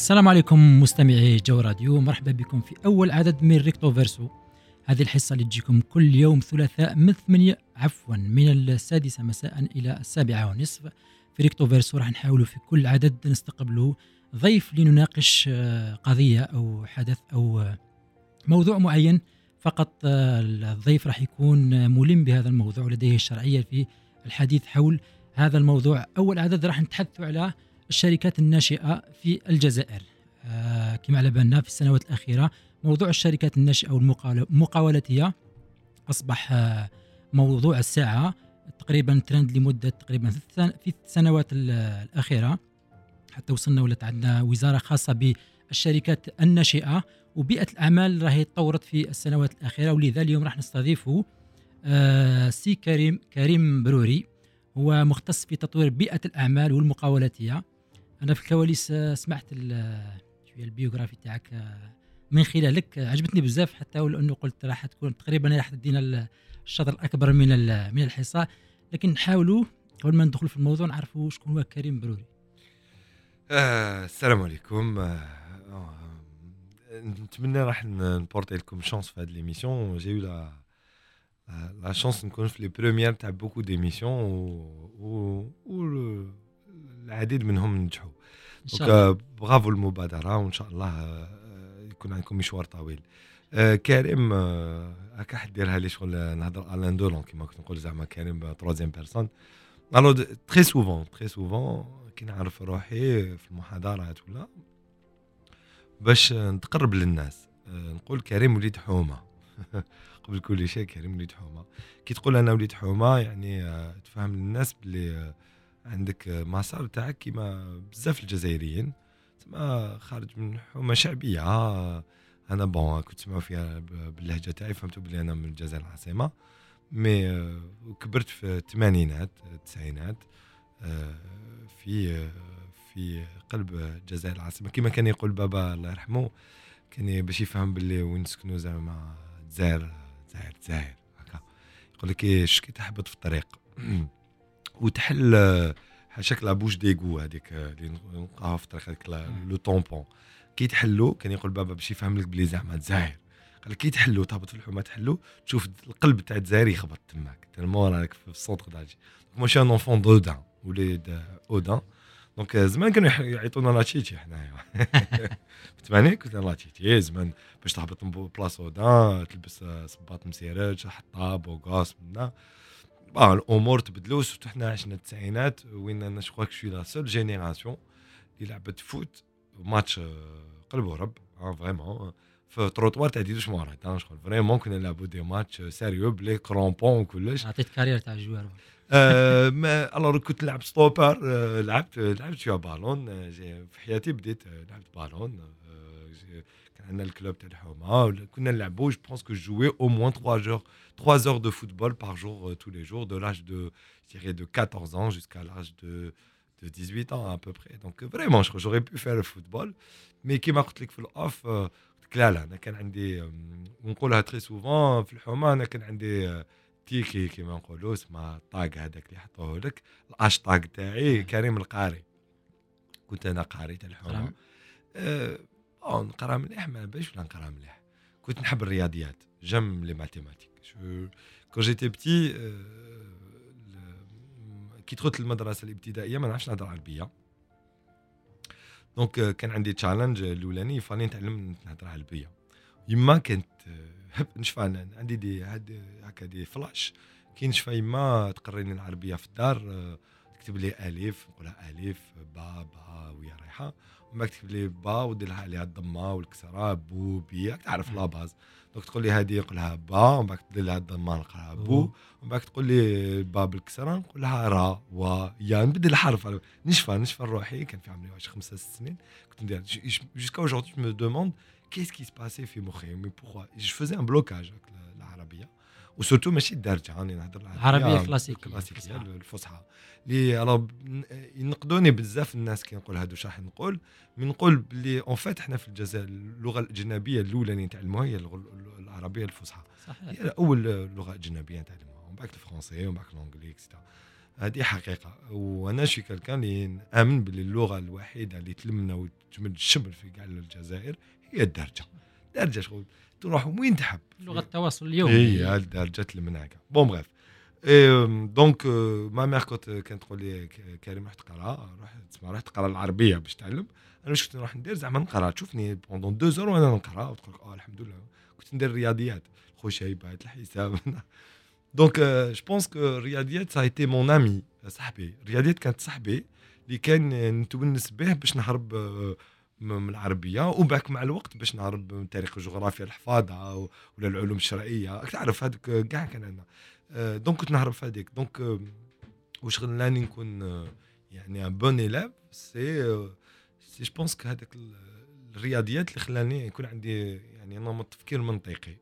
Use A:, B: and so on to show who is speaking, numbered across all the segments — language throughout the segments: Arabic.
A: السلام عليكم مستمعي جو راديو، مرحبا بكم في أول عدد من ريكتو فيرسو. هذه الحصة اللي تجيكم كل يوم ثلاثاء من السادسة مساء إلى 7:30 في ريكتو فيرسو. راح نحاولوا في كل عدد نستقبلوا ضيف لنناقش قضية أو حدث أو موضوع معين. فقط الضيف راح يكون ملم بهذا الموضوع ولديه الشرعية في الحديث حول هذا الموضوع. أول عدد راح نتحدث على الشركات الناشئة في الجزائر. كما على بالنا في السنوات الأخيرة موضوع الشركات الناشئة والمقاولاتية أصبح موضوع الساعة، تقريبا ترند لمدة تقريبا في السنوات الأخيرة، حتى وصلنا ولات عندنا وزارة خاصة بالشركات الناشئة. وبيئة الأعمال راهي تطورت في السنوات الأخيرة، ولذا اليوم راح نستضيفه سي كريم بروري، هو مختص في تطوير بيئة الأعمال والمقاولاتية. أنا في الكواليس سمعت شوية البيوغرافي تاعك من خلالك، عجبتني بزاف، حتى ولأنه قلت راح تكون تقريبا راح تدينا الشطر الأكبر من الحصة، لكن نحاولوا قبل ما ندخل في الموضوع نعرفوا شكون هو كريم بروري.
B: السلام عليكم. نتمنى راح نبورتي لكم شانس في هذه ليميسيون. جاي لا شانس نكون في لي بريميير تاع بوكو ديميسيون و العديد منهم نجحوا. دونك برافو المبادرة، وإن شاء الله يكون عندكم مشوار طويل. كريم هكا حديرها لي شغل نهضر الان دولون كيما كنت نقول زعما كريم تروازيام بيرسون. الو تري سوفون كي نعرف روحي في المحاضرات ولا باش نتقرب للناس نقول كريم وليد حومه. قبل كل شيء كريم وليد حومه. كي تقول انا وليد حومه يعني تفهم للناس بلي عندك مسار تاعك كيما بزاف الجزائريين، تسمى خارج من حومه شعبيه. انا بون كنت تسمعوا فيها باللهجه تاعي، فهمتوا بلي انا من الجزائر العاصمه، مي كبرت في الثمانينات التسعينات في قلب الجزائر العاصمه. كما كان يقول بابا الله يرحمه، كان باش يفهم باللي وين نسكنوا زعما الجزائر هكا، يقول لك ايش كي تحبط في الطريق وتحل شكلها بوش ديغو هذيك اللي نلقاها في الطريق، هذيك لو طومبون كي تحلو. كان يقول بابا باش يفهم لك بلي زعما الجزائر، قال لك كي تحلو تهبط في الحومه تحلو تشوف القلب تاع الجزائر يخبط تماك تالمو راك في السونتر دالجي. مو شي ان اونفون دودان وليد اودان. دونك زمان كانوا يعيطونا لاتشيتي حنايا. فتمانين كنت لاتشيتي زمان باش تهبط بلاصه اودان تلبس صباط مسيرج حطاب بوغاس منا الامور تبدلوا. سورتو حنا عشنا التسعينات وين انا شكوك شوي لا سول جينيراسيون اللي لعبت فوت ماتش قلب ورب فريمون في تروطوار تاع ديدوش مورات. شغل فريمون كنا نلعبوا دي ماتش سيريو بلي كرومبون وكلش.
A: عطيت كارير تاع الجوار.
B: ما الوغ كنت نلعب ستوبر. لعبت شويه بالون. في حياتي بديت لعبت بالون. كان عندنا الكلوب تاع الحومه كنا نلعبوا جو بونس كو جوي او موان 3 heures de football par jour tous les jours de l'âge de je dirais de 14 ans jusqu'à l'âge de 18 ans à peu près. Donc vraiment j'aurais pu faire le football, mais كيما قلت لك في الاوف لا انا كان عندي ونقولها تري سوفون في الحومه. انا كان عندي تيكي كيما نقولوا اسمها طاق هذاك اللي حطوه لك الاشطاق تاعي كريم القاري. كنت انا قاري تاع الحومه. نقرا مليح ما باش ولا نقرا مليح. كنت نحب الرياضيات جم لي ماتيماتيك. كون جيتي بتي كي دخلت المدرسه الابتدائيه ما نعرفش نهضر عربيه. دونك كان عندي تشالنج الاولاني فاني نتعلم نهضر عربيه. يما كانت نشفى عندي دي هكا دي فلاش كي نشفى يما تقريني العربيه في الدار. تكتب لي الف نقولها الف با ويا رايحه، وما تكتب لي با ودير لها عليها الضمه والكسره بو بي تعرف لا باز. دونك تقول لي هذه نقولها با ومن بعد تدير لها الضمه نقولها بو ومن بعد تقول لي با بالكسره نقولها را و يا نبدل الحرف. نشفى روحي. كان في عمري 5 6 سنين كنت ندير jusqu'à aujourd'hui je me demande qu'est-ce qui se passait في مخي mais pourquoi je faisais un blocage avec العربيه وسورتو ماشي الدارجه راني نهضر
A: العربيه الكلاسيكيه
B: الفصحى اللي ينقدوني بزاف الناس كي نقول هادو شاح نقول من نقول بلي اون فات احنا في الجزائر اللغه الاجنبيه الاولى اللي نتعلموها هي العربيه الفصحى. هي اول لغه اجنبيه نتعلموها ومن بعد الفرنسي ومن بعد الانجليزي اكسترا. هذه حقيقه. وانا شي كالكان اللي نامن باللي اللغه الوحيده اللي تلمنا وتجمد الشمل في كاع الجزائر هي الدارجه شغل تروح وين تحب
A: لغه التواصل اليومي
B: هي الدارجه تلمناك. بون بغيف دونك ما مير كانت تقول لي كريم روح تقرا، روح تسمع، روح تقرا العربيه باش تعلم. انا واش كنت نروح ندير زعما نقرا، تشوفني بوندون 2 اور وانا نقرا وتقول لك الحمد لله. كنت ندير الرياضيات، الخشيبات، الحساب. دونك جو بونس كو الرياضيات سا ايتي مون امي، صاحبي. الرياضيات كانت صاحبي اللي كان نتونس به باش نهرب من العربيه، وباك مع الوقت باش نهرب من تاريخ الجغرافيا الحفاظه ولا العلوم الشرعيه. تعرف هذوك كاع كان عندنا. دونك كنت نهرب في هذيك. دونك واش خلاني نكون يعني ان بون إيلاف سي جو بونس كو هذاك الرياضيات اللي خلاني يكون عندي يعني نمط تفكير منطقي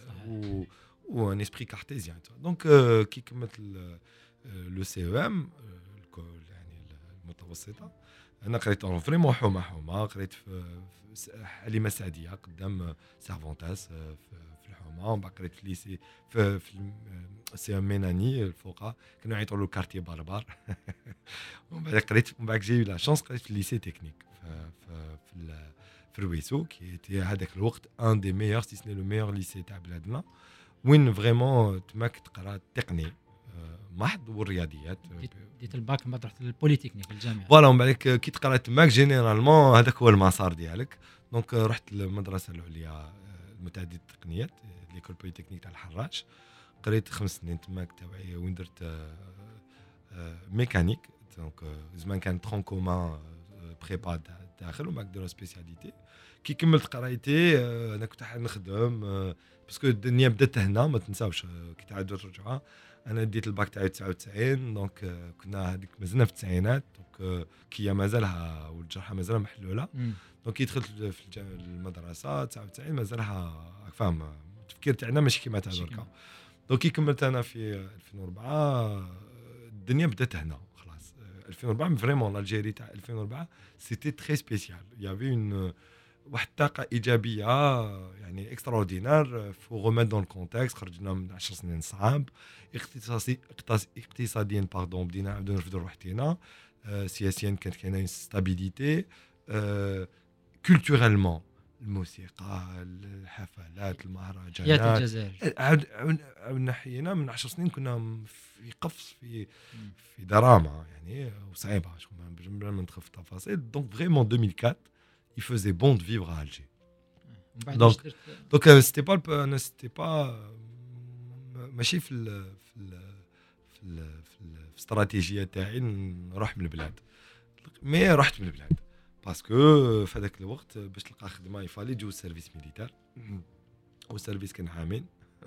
B: و ان اسبري كارتيزيان. دونك كي كملت لو سي او ام يعني المتوسطه، انا قريت فريمون حومه. قريت في حليمه سعديه قدام سيرفونتاس في الحومه، ومن بعد قريت في ليسي في سي ام ميناني الفوقا كانوا يعيطوا له كارتي باربار. ومن بعد قريت، ومن بعد جي لا شانس قريت في الليسي تكنيك في الرويسو كي تي هذاك الوقت ان دي ميور سي سني لو ميور ليسي تاع بلادنا، وين فريمون تماك تقرا التقني محض والرياضيات.
A: ديت الباك ما رحت للبوليتكنيك الجامعه
B: فوالا. ومن بعد كي تقرا تماك جينيرالمون هذاك هو المسار ديالك. دونك رحت للمدرسه العليا المتعدده التقنيات ليكول بوليتكنيك تاع الحراش. قريت 5 سنين تماك تاعي، وين درت ميكانيك. دونك زمان كان ترون كومان بريبا داخل، ومن بعد ديروا سبيسياليتي. كي كملت قرايتي انا كنت حاب نخدم باسكو الدنيا بدات هنا ما تنساوش كي تعاد الرجعه. انا ديت الباك تاعي 99، دونك كنا هذيك مازلنا في التسعينات. دونك كي مازالها والجرحه مازالها محلوله. دونك كي دخلت في المدرسه 99 مازالها فاهم التفكير تاعنا ماشي كيما تاع دركا. دونك كي كملت انا في 2004 الدنيا بدات هنا خلاص. 2004 فريمون الجيري تاع 2004 سيتي تري سبيسيال. يافي اون واحد الطاقه ايجابيه يعني اكستراوردينار. فو غوميت دون الكونتكست، خرجنا من 10 سنين صعاب اقتصاديا باردون، بدينا نعاودو نرفدو روحتينا. سياسيا كانت كاينه ستابيليتي. كولتورالمون الموسيقى، الحفلات، المهرجانات،
A: حياه الجزائر.
B: عاودنا حيينا من 10 سنين كنا في قفص في دراما يعني وصعيبه بلا ما ندخل في التفاصيل. دونك فريمون 2004 il faisait bon de vivre à Alger. Donc c'était pas ماشي في الاستراتيجيه تاعي نروح من البلاد، مي رحت من البلاد باسكو في هذاك الوقت باش تلقى خدمه يفالي تجو السيرفيس ميليتير، والسيرفيس كان عامين.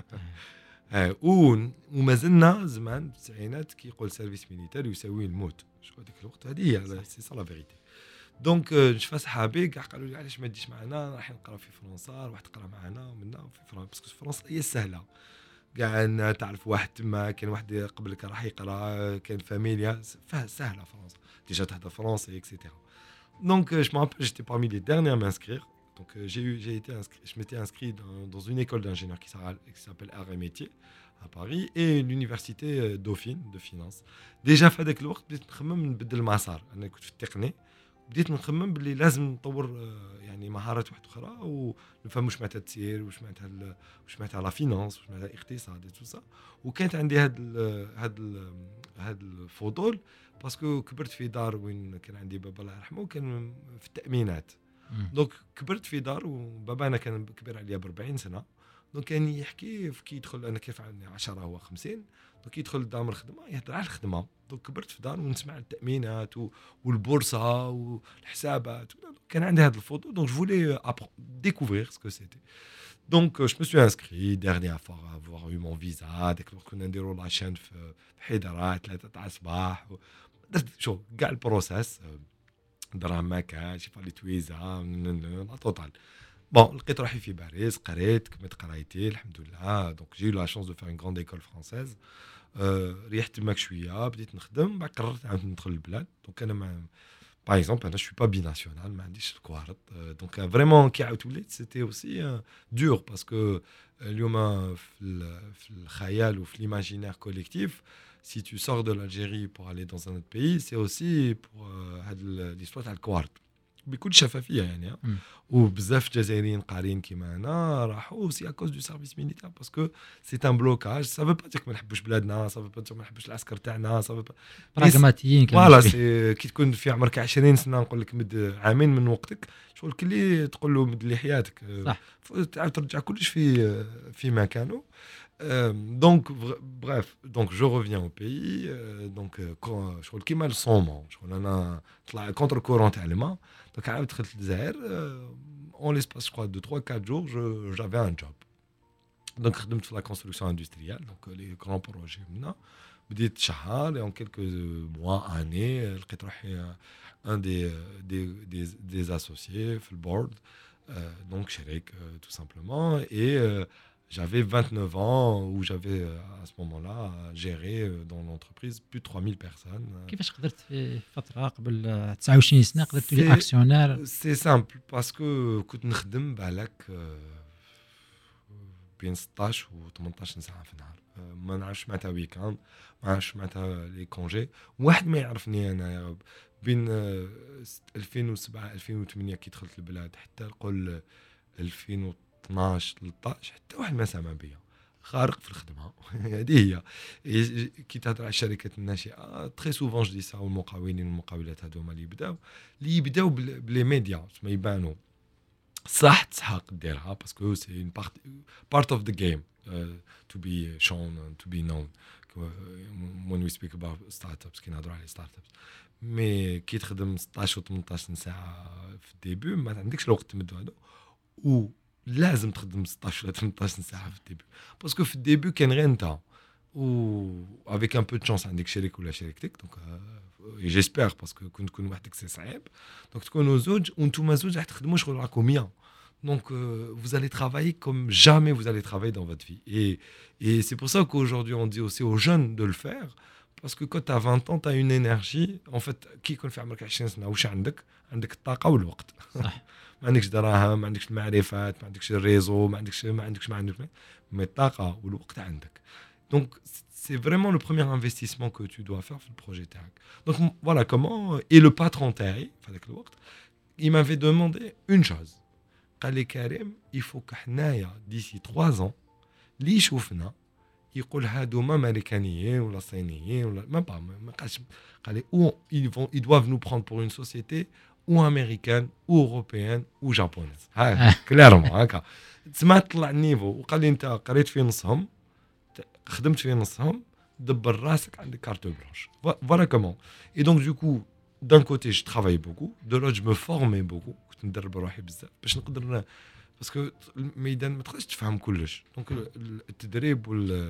B: ومازلنا زمان في التسعينات كي يقول سيرفيس ميليتير يساوي الموت. شو هذاك الوقت هذه هي سي سا لا فيريتي. دونك نشوف صحابي كاع قالوا لي علاش ما تجيش معنا، راح نقرا في فرنسا، روح تقرا معنا ومنا في فرنسا باسكو فرنسا هي سهله كاع. تعرف واحد تما كان واحد قبلك راح يقرا، كان فاميليا سهله فرنسا ديجا تهضر فرنسي اكسيتيرا. دونك جو مابل جيتي parmi les derniers à m'inscrire. Donc j'ai été inscrit, je m'étais inscrit dans une école d'ingénieur qui s'appelle Arts et Métiers à Paris et l'université Dauphine de finance. Déjà في هذاك الوقت بديت نخمم نبدل المسار. انا كنت في التقني، بديت نخمم باللي لازم نطور يعني مهارات واحده اخرى ونفهم واش معناتها التسيير، واش معناتها لا فينانس، واش معناتها الاقتصاد تو سا. وكانت عندي هاد الفضول باسكو كبرت في دار وين كان عندي بابا الله يرحمه كان في التامينات. دونك كبرت في دار وبابا انا كان كبير عليا ب 40 سنه. دونك كان يحكي كي يدخل، انا كيف عندي 10 هو 50، دونك يدخل لدار الخدمه يهضر على الخدمه. دونك كبرت في دار ونسمع التامينات والبورصه والحسابات. كان عندي هذا الفضول. دونك جو فولي découvrir ce que c'était. Donc je me suis inscrit dernière fois à avoir eu mon visa. ديك الوقت كنا نديروا لاشين في حيدره 3 تاع الصباح. درت شو كاع البروسيس، دراهم ما كانش يفالي تويزا لا توتال. بون لقيت روحي في باريس، قريت كملت قرايتي الحمد لله. دونك جي لا شانس دو فير اون غراند ايكول فرونسيز. ريحت تماك شويه، بديت نخدم، بعد قررت عاود ندخل البلاد. دونك انا باغ اكزومبل انا شوي با بي ناسيونال، ما عنديش الكوارط. دونك فريمون كي عاود وليت سيتي اوسي دور باسكو اليوم في الخيال وفي ليماجينير كوليكتيف si tu sors de l'Algérie pour aller dans un autre pays, c'est aussi pour l'histoire de Quart. بكل شفافيه يعني وبزاف جزائريين قارين كيما انا راحوا سي اكوز دو سيرفيس ميليتير باسكو سي ان بلوكاج سافو با ديك ما نحبوش بلادنا سافو با ما نحبوش العسكر تاعنا سافو
A: براغماتيين
B: فوالا سي كي تكون في عمرك 20 سنه نقول لك مد عامين من وقتك شغل كلي تقول له مد لي حياتك
A: صح
B: تعاود ترجع كلش في مكانه. Donc bref, donc je reviens au pays, donc je crois qu'il m'a le son, je crois qu'on a contre courant tellement, donc à être l'Zaïre, en l'espace je crois de 3-4 jours, j'avais un job. Donc je faisais la construction industrielle, donc les grands projets maintenant. بديت شهر et en quelques mois, années, لقيت روحي un des associés في البورد, donc شريك tout simplement, et j'avais 29 ans où j'avais à ce moment-là géré dans l'entreprise plus de 3000 personnes.
A: كيفاش قدرت في فترة قبل 29 سنة قدرت تولي اكسيونير؟
B: C'est simple parce que كنت نخدم بالك بين 16 و 18 ساعة في النهار. ما نعرفش معناتها ويكاند, ما نعرفش معناتها لي كونجي. واحد ما يعرفني انا بين 2007 2008 كي دخلت البلاد حتى نقول 2012 13 حتى واحد ما سمع بيا, خارق في الخدمه. هذه هي كي تهضر على الشركات الناشئه تري سوفون جو دي سا والمقاولين والمقاولات هذوما اللي يبداو بلي ميديا ما يبانوا صح تسحق ديرها باسكو سي اون بارت اوف ذا جيم to be shown and to be known when we speak about startups كي نهضروا على startups. مي كي تخدم 16 و 18 ساعه في الديبي ما عندكش الوقت تمدو هذا, و لازم تخدم 16 ولا 18 ساعه في الديبي باسكو في الديبي كان غير انت و افيك ان بو دو شانس عندك شريك ولا شريكتك. دونك جيسبر باسكو كنت تكون وحدك سي صعيب, دونك تكونوا زوج وانتم زوج راح تخدموا شغل راكم 100. Donc, vous allez travailler comme jamais vous allez travailler dans votre vie. Et c'est pour ça qu'aujourd'hui, on dit aussi aux jeunes de le faire. Parce que quand tu as 20 ans, tu as une énergie. En fait, qui يكون في عمرك 20 سنة وش عندك الطاقة والوقت. ما عندكش دراهم, ما عندكش المعرفات, ما عندكش الريزو, ما عندكش mais الطاقة والوقت عندك. Donc, c'est vraiment le premier investissement que tu dois faire في البروجي تاعك. Donc, voilà comment. Et le patron تاعي في هذاك الوقت, il m'avait demandé une chose. قال لي كريم يفوك حنايا ديسي 3 ans اللي يشوفنا يقول هادوما امريكانيين ولا صينيين ولا ما قالش, قال لي او ils doivent nous prendre pour une société ou américaine ou européenne ou japonaise. ها كليرمون هكا تسمع طلع النيفو. وقال لي انت قريت في نصهم, خدمت في نصهم, دبر راسك عندك كارت بلانش. voilà comment. Et donc du coup d'un côté je travaillais beaucoup, de l'autre je me formais beaucoup, كنت ندرب روحي بزاف باش نقدر باسكو الميدان ما تقدرش تفهم كلش. دونك التدريب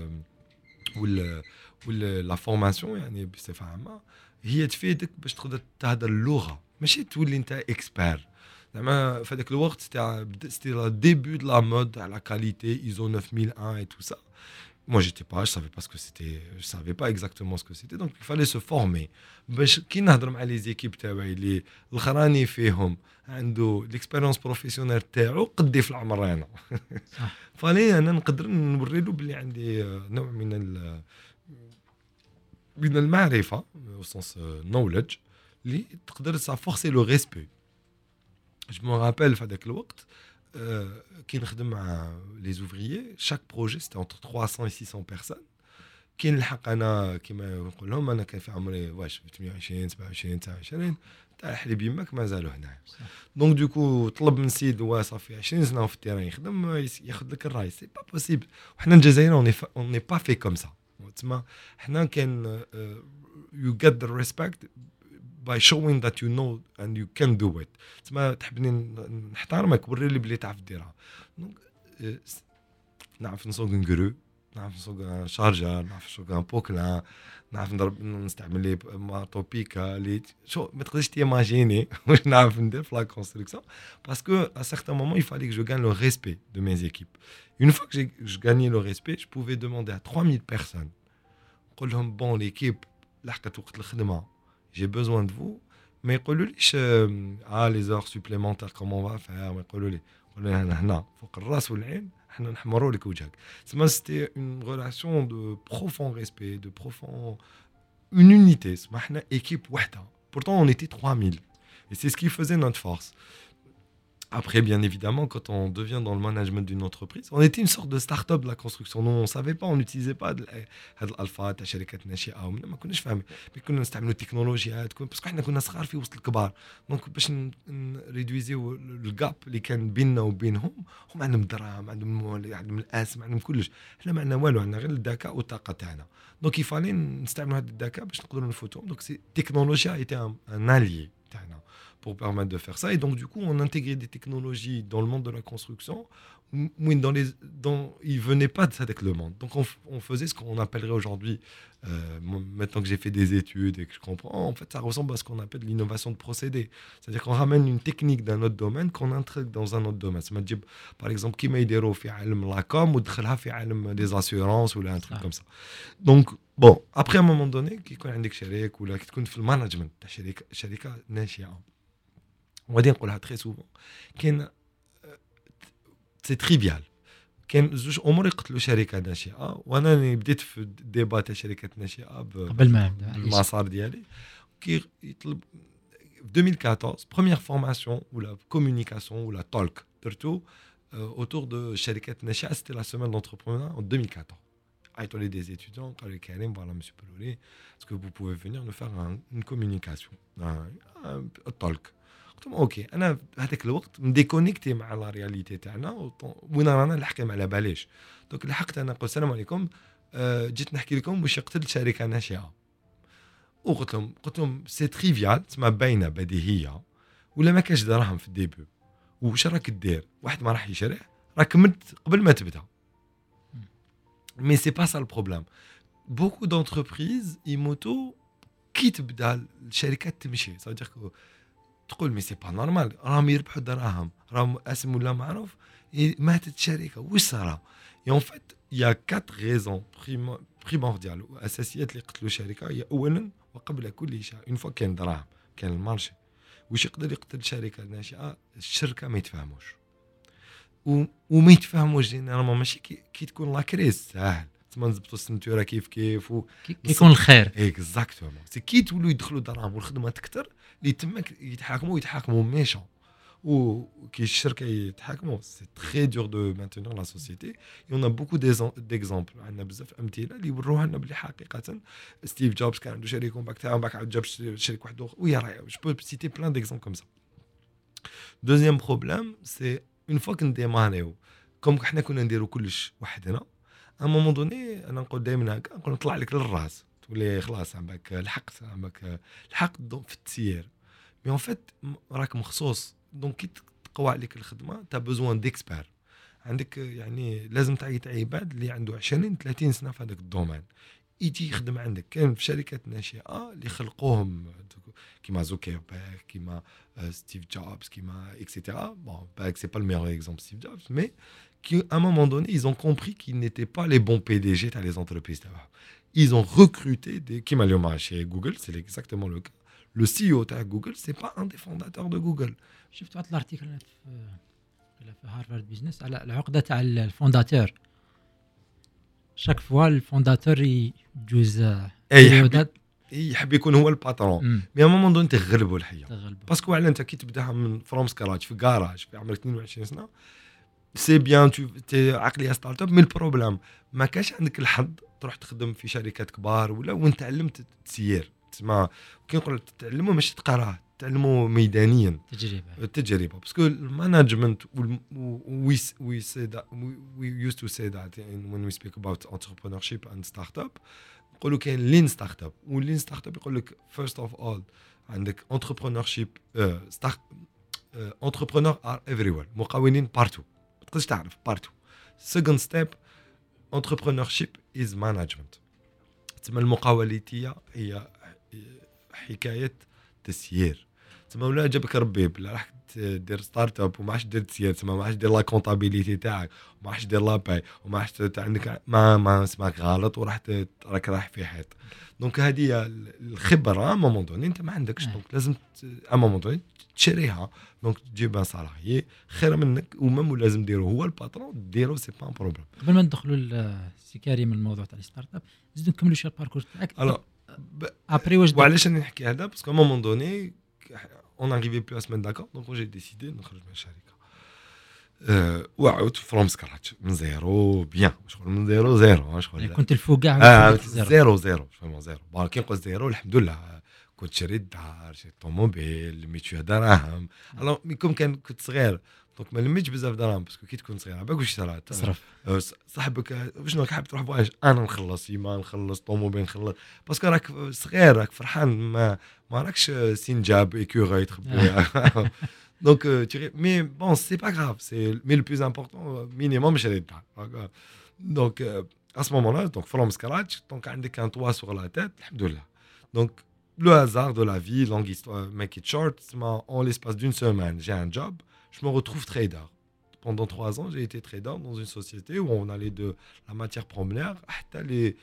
B: لا فورماسيون يعني بصفه عامه هي تفيدك باش تقدر تهضر اللغه, ماشي تولي انت اكسبير. زعما في هذاك الوقت c'était le début de la mode à la qualité ISO 9001 et tout ça. Moi j'étais pas, je savais pas ce que c'était, je savais pas exactement ce que c'était, donc il fallait se former. باش كي نهضر مع لي زيكيب تاعي اللي الخراني فيهم عنده الاكسبيريونس بروفيسيونيل تاعو قدي في العمر انا. فاني انا نقدر نوري له بلي عندي نوع من المعرفه au sens knowledge اللي تقدر ça forcer le respect. Je me rappelle في هذاك الوقت كي نخدم مع les ouvriers, chaque projet c'était entre 300 et 600 personnes. كي نلحق انا كيما نقول لهم انا كان في عمري واش 28 27 29 تاع حليب يماك مازالوا هنا. دونك دوكو طلب من سيد صافي 20 سنه في التيران يخدم ياخذ لك الراي, سي با بوسيبل. وحنا الجزائريين اون ني با في كوم سا. تسمى حنا كان you get the respect by showing that you know and you can do it. تسمى تحبني نحترمك وري لي بلي تعرف ديرها. دونك نعرف نسوق نقرو, نعرف نسوق شارجر, نعرف نسوق ان بوكلان, نعرف نستعمل لي ماتوبيكا اللي شو ما تقدرش تيماجيني واش نعرف ندير في لا كونستركسيون باسكو ا سيغتان مومون il fallait que je gagne le respect de mes équipes. Une fois que je gagnais le respect, je pouvais demander à 3000 personnes, نقول لهم bon l'équipe لحقت وقت الخدمه, j'ai besoin de vous, ما يقولوليش لي زور سوبليمونتير كومون فا فير، ما يقولوا لي هنا فوق الراس والعين احنا نحمروا لك وجهك. سما سيتي اون ريلاسيون دو بروفون ريسبي دو بروفون اون يونيتي. سما احنا ايكيب وحده pourtant on était 3000 et c'est ce qui faisait notre force. Après, bien évidemment, quand on devient dans le management d'une entreprise, on était une sorte de start-up de la construction. Nous, on ne savait pas, on n'utilisait pas l'alpha, ta شركات ناشئة. ما كناش فاهمين. كنا نستعملوا التكنولوجيات parce que احنا كنا صغار في وسط الكبار. دونك باش نريدويزيو الجاب اللي كان بيننا وبينهم، هم عندهم دراهم، عندهم الاسم، عندهم كلش. احنا ما عندنا والو، عندنا غير الذكاء والطاقة تاعنا. دونك يفالي نستعملوا هذا الذكاء باش نقدروا نفوتهم. دونك التكنولوجيا était un allié تاعنا pour permettre de faire ça. Et donc, du coup, on intégrait des technologies dans le monde de la construction, où ils ne venaient pas de ça avec le monde. Donc, on faisait ce qu'on appellerait aujourd'hui, maintenant que j'ai fait des études et que je comprends, en fait, ça ressemble à ce qu'on appelle l'innovation de procédé. C'est-à-dire qu'on ramène une technique d'un autre domaine qu'on intègre dans un autre domaine. Par exemple, qui m'a aidé à faire la com ou de des assurances ou un truc comme ça. Donc, bon, après, à un moment donné, qui connaît des chériques ou là, qui connaît le management, chérique nashia. On va dire qu'on l'a très souvent. C'est trivial. كان زوج امور يقتلوا شركه ناشئه، وانا بديت في الديبا تاع شركات ناشئه
A: قبل ما نبدا
B: المسار ديالي كي يطلب في 2014 première formation ou la communication ou la talk درتو autour de شركات ناشئه. c'était la semaine d'entrepreneur en 2014. عيطوا لي des étudiants قالوا لي كريم voilà monsieur Pelolé, est-ce que vous pouvez venir nous faire une communication, un talk. قلت لهم اوكي. انا هذاك الوقت مديكونيكتي مع لا رياليتي تاعنا، وين رانا نحكي على باليش. دونك لحقت انا قلت السلام عليكم، جيت نحكي لكم واش يقتل شركه ناشئه. وقلت لهم سي تريفيال، تسمى باينه بديهيه، ولا ما كاش دراهم في الديبي، واش راك دير؟ واحد ما راح يشري، راك مت قبل ما تبدا. مي سي با سا البروبليم. بوكو دونتربريز يموتو كي تبدا الشركات تمشي. صادق تقول مي سي با نورمال، راهم يربحوا دراهم، راهم اسم ولا معروف، ماتت الشركه، واش صرا؟ اي ان فيت يا 4 ريزون بريمورديال واساسيات اللي قتلوا الشركه. هي اولا وقبل كل شيء، اون فوا كان دراهم، كان المارشي، واش يقدر يقتل شركه ناشئه؟ الشركه ما يتفاهموش، وما يتفاهموش جينيرالمون. ماشي كي تكون لا كريز ساهل، تما نزبطوا السنتوره كيف
A: يكون الخير.
B: اكزاكتومون. سي كي تولوا يدخلوا دراهم والخدمه تكثر، اللي تماك يتحاكموا ميشون، وكي الشركه يتحاكموا. سي تري دور دو مانتينير لا سوسيتي. يون ا بوكو ديكزامبل، عندنا بزاف امثله اللي يوروها لنا بلي حقيقه ستيف جوبز كان عنده شركه ومن بعد تاعو بعد عاود جاب شركه واحده اخرى. ويا راهي جو بو سيتي بلان ديكزامبل كوم سا. دوزيام بروبليم سي اون فوا كنديماريو كوم حنا كنا نديرو كلش وحدنا. ا مومون دوني انا نقول دائما هكا، نقول نطلع لك للراس، تولي خلاص عندك الحق في التسيير. مي اون فيت راك مخصوص. دونك كي تقوى عليك الخدمه تا بوزوان ديكسبير. عندك يعني لازم تعيط عباد اللي عنده 20 30 سنه في هذاك الدومين يجي يخدم عندك. كان في شركات ناشئه اللي خلقوهم كيما زوكربيرغ، كيما ستيف جوبز، كيما اكسيتيرا. بون باك سي با لو ميور اكزومبل ستيف جوبز، مي qui à un moment donné ils ont compris qu'ils n'étaient pas les bons PDG dans les entreprises. Ils ont recruté des qui m'a chez Google, c'est exactement le cas. Le CEO de Google, c'est pas un des fondateurs de Google.
A: شفت واحد الارتيكل في هارفارد بيزنس على العقده تاع الفونداتور. شاك فوا الفونداتور يجوز
B: يحب يكون هو الباترون، مي ا مومون دون تغلبوا الحياه. باسكو على انت كي تبداها من فروم سكراتش في كراج في عمرك 22 سنه، سي بيان تي عقليه ستارت اب. مي البروبليم ما كاش عندك الحظ تروح تخدم في شركات كبار ولا وين تعلمت تسيير. تسمع كي نقول تتعلموا ماشي تقراه، تعلموا ميدانيا، تجربه. باسكو المانجمنت we say that we used to say that when we speak about entrepreneurship and startup. نقولوا كاين لين ستارت اب، واللين ستارت اب يقول لك first of all عندك entrepreneurship entrepreneur are everywhere، مقاولين بارتو، ما تقدرش تعرف بارتو. second step entrepreneurship is management. تسمى المقاوليتيه هي حكايه تسيير. تسمى ولا جابك ربي بلا راح دير ستارت اب وما عادش دير سياسه ما عادش دير لا كونطابيليتي تاعك وما عادش دير لا باي وما عادش عندك ما اسمك غلط وراح راك رايح في حيط. دونك هذه الخبره مومون دوني انت ما عندكش دونك لازم مومون دوني تشريها. دونك تجيب ان سالاريي خير منك ومام لازم ديرو هو الباترون ديرو سي با بروبليم.
A: قبل ما ندخلوا لسي كريم الموضوع تاع الستارت اب نزيدو نكملوا شي الباركور تاعك. ابري واش
B: وعلاش راني نحكي هذا باسكو مومون دوني on n'arrivait plus à se mettre d'accord donc j'ai décidé نخرج من الشركه وعاود فروم سكراتش من زيرو بيان شغل من زيرو شغل
A: كنت الفوق كاع
B: زيرو فما زيرو بون كي نقول زيرو الحمد لله كنت شريت دار شريت طوموبيل ميت فيها دراهم الو ميكم كنت صغير دونك ما لميتش بزاف دراهم باسكو كي تكون صغير عباك واش تصرف صاحبك شنو حاب تروح فواج انا نخلص يما نخلص طوموبيل نخلص باسكو راك صغير راك فرحان ما راكش سينجاب ايكوري تخبي دونك مي بون سي با غراف سي مي لو بلوز امبورطون مينيموم شريت دار دونك à ce moment-là donc from scratch donc عندك un toit sur la tête الحمد لله. donc le hasard de la vie longue histoire make it short en l'espace d'une semaine j'ai un job je me retrouve trader. Pendant 3 ans, j'ai été trader dans une société où on allait de la matière première à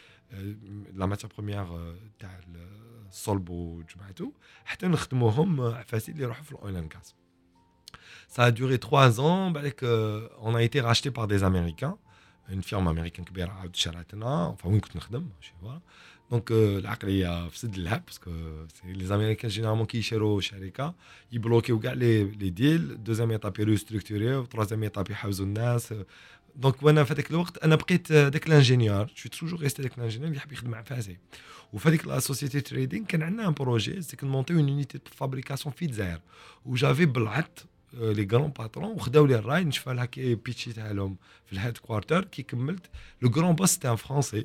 B: la matière première le solbo جمعتو حتى نخدموهم عفاسي اللي يروحوا في الاويل اند غاز. Ça a duré 3 ans on a été racheté par des Américains, une firme américaine كبيرة عاود شراتنا enfin وين كنت نخدم voilà. دونك العقليه في سد اللعب باسكو لي امريكان جينيرالمون كي يشروا شركه يبلوكيو كاع لي ديل دوزيام ايطاب ريستركتوري وتروازيام ايطاب يحوزوا الناس. دونك وانا في هذاك الوقت انا بقيت داك الانجينيور جو توجور ريستي داك الانجينيور اللي يحب يخدم مع فاسي. وفي هذيك لا سوسيتي تريدينغ كان عندنا ان بروجي سي كنمونطيو اون يونيتي دو فابريكاسيون في الجزائر وجافي بلعت لي غران باترون وخداو لي الراي نشفى لها كي بيتشي تاعهم في الهيد كوارتر كي كملت لو غران بوس تاع فرونسي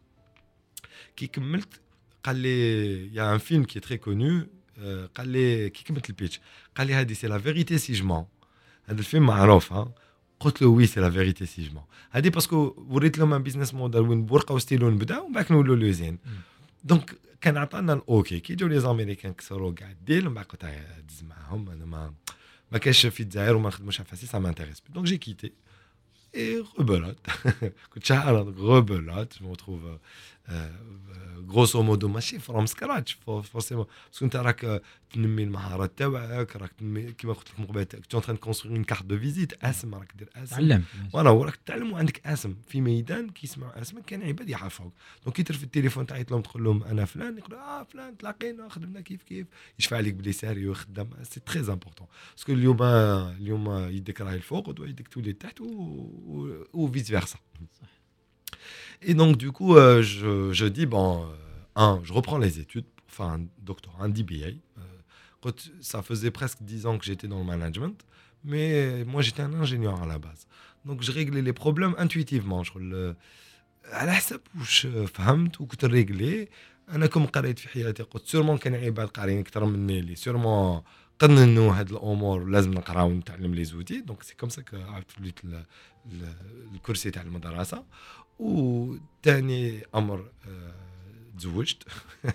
B: كي كملت قال لي يا ان فيلم كي تري كونو قال لي كي كملت البيتش قال لي هذه سي لا فيريتي سي جمون هذا الفيلم معروف قلت له وي سي لا فيريتي سي جمون هذه باسكو وريت لهم ان بيزنس موديل وين بورقه وستيلو نبدا ومن بعد نولوا لوزين. دونك كان عطانا الاوكي كي جاو لي زاميريكان كسروا كاع الديل ومن بعد قلت دز معاهم انا ما كاينش في الجزائر وما نخدموش على فاسي سا مانتيريس دونك جي كيتي et rebelote. Rebelote, je me retrouve grosso modo ماشي from scratch forcément parce que انت راك تنمي المهارات تاعك راك تنمي كيما قلت لك من قبل tu es en train de construire une carte de visite اسم راك دير اسم
A: تعلم
B: فوالا وراك تتعلم وعندك اسم في ميدان كيسمعوا اسمك كان عباد يعرفوك. دونك كي ترفد التليفون تعيط لهم تقول لهم انا فلان يقولوا فلان تلاقينا خدمنا كيف يشفع عليك بلي ساريو خدام سي تري امبورطون باسكو اليوم يدك راهي الفوق ودوا يدك تولي تحت ou vice versa. Et donc du coup je dis je reprends les études pour faire un doctorat, un DBA. Ça faisait presque 10 ans que j'étais dans le management, mais moi j'étais un ingénieur à la base. Donc je réglais les problèmes intuitivement. على حسب واش فهمت وكنت نريغلي. انا كم قريت في حياتي قلت سيرمون كان عباد قارين اكثر مني اللي سيرمون قننوا هاد الامور لازم نقراو ونتعلم لي زوتي. دونك سي كوم سا كو عرفت وليت الكرسي تاع المدرسه. وثاني امر تزوجت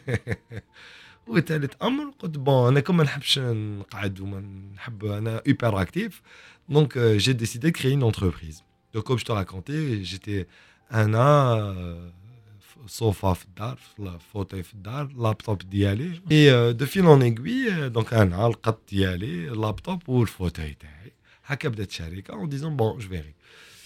B: وثالث امر قلت انا كما نحبش نقعد وما نحب انا hyper actif donc j'ai décidé de créer une entreprise. Donc comme je te racontais j'étais انا صوفا في الدار فوتي في الدار لابتوب ديالي اي دو فيل اون ايغوي دونك انا القط ديالي اللابتوب والفوتاي تاعي هكا بدات الشركه en disant bon je verrai.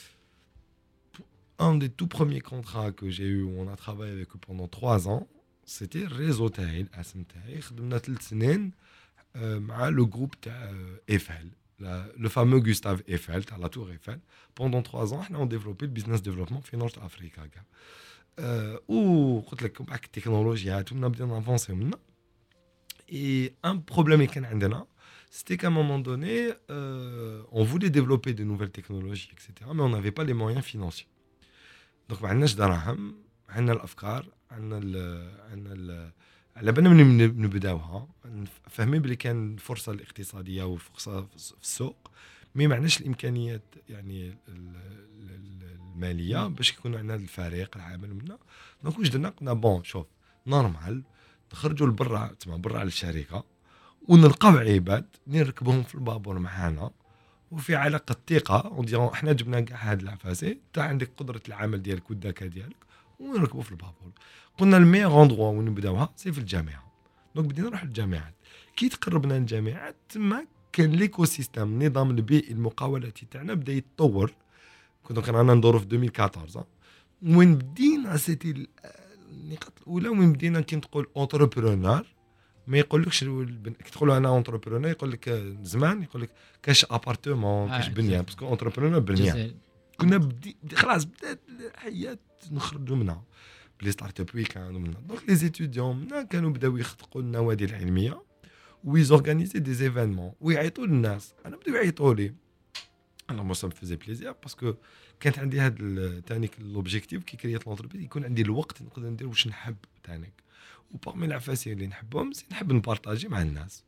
B: Un des tout premiers contrats que j'ai eu où on a travaillé avec eux pendant 3 ans c'était réseau تاعي الاسم تاعي خدمنا 3 سنين مع لو جروب تاع ايفل le fameux Gustave Eiffel تاع لا تور ايفل. pendant 3 ans احنا on développé le business développement في نورث افريكا كاع. وقلت لك بعد التكنولوجيات ونبدا نافونسي منا. et un problème اللي كان عندنا c'était qu'à un moment donné on voulait développer de nouvelles technologies etc mais on n'avait pas les moyens financiers. donc ما عندناش دراهم عندنا الافكار عندنا على بالنا نبداوها فاهمين بلي كان الفرصه الاقتصاديه والفرصه في السوق مي معناش الامكانيات يعني الماليه باش يكون عندنا الفريق العامل منا. دونك واش درنا قلنا شوف نورمال نخرجوا لبرا تما برا على الشركه ونلقاو عباد نركبهم في البابور معانا وفي علاقه ثقه وديرون احنا جبنا كاع هاد العفاسي انت عندك قدره العمل ديالك والذكاء ديالك ونركبوا في البابور. قلنا الميغ اندروا وين نبداوها سي في الجامعه. دونك بدينا نروح للجامعات. كي تقربنا للجامعات تما كان ليكو سيستم النظام البيئي المقاولاتي تاعنا بدا يتطور. كنا رانا ندورو في 2014 وين بدينا سيتي النقاط الاولى وين بدينا كي تقول اونتربرونور ما يقولكش كي تقول انا اونتربرونور يقول لك زمان يقول لك كاش ابارتمون كاش بنيان باسكو اونتربرونور بنيان. كنا خلاص بدات الحياه نخرجوا منها بلي ستارت اب ويكاند ومنها. دونك لي ستوديون منا كانوا بداو يخطقوا النوادي العلميه ويزورغانيزي دي زيفينمون ويعيطوا للناس. انا بداو يعيطوا لي انا مو سا فيزي بليزير باسكو كانت عندي هذا ثاني لوبجيكتيف كي كريت لونتربريز يكون عندي الوقت نقدر ندير واش نحب ثاني وبارمي العفاسين اللي نحبهم نحب نبارطاجي مع الناس.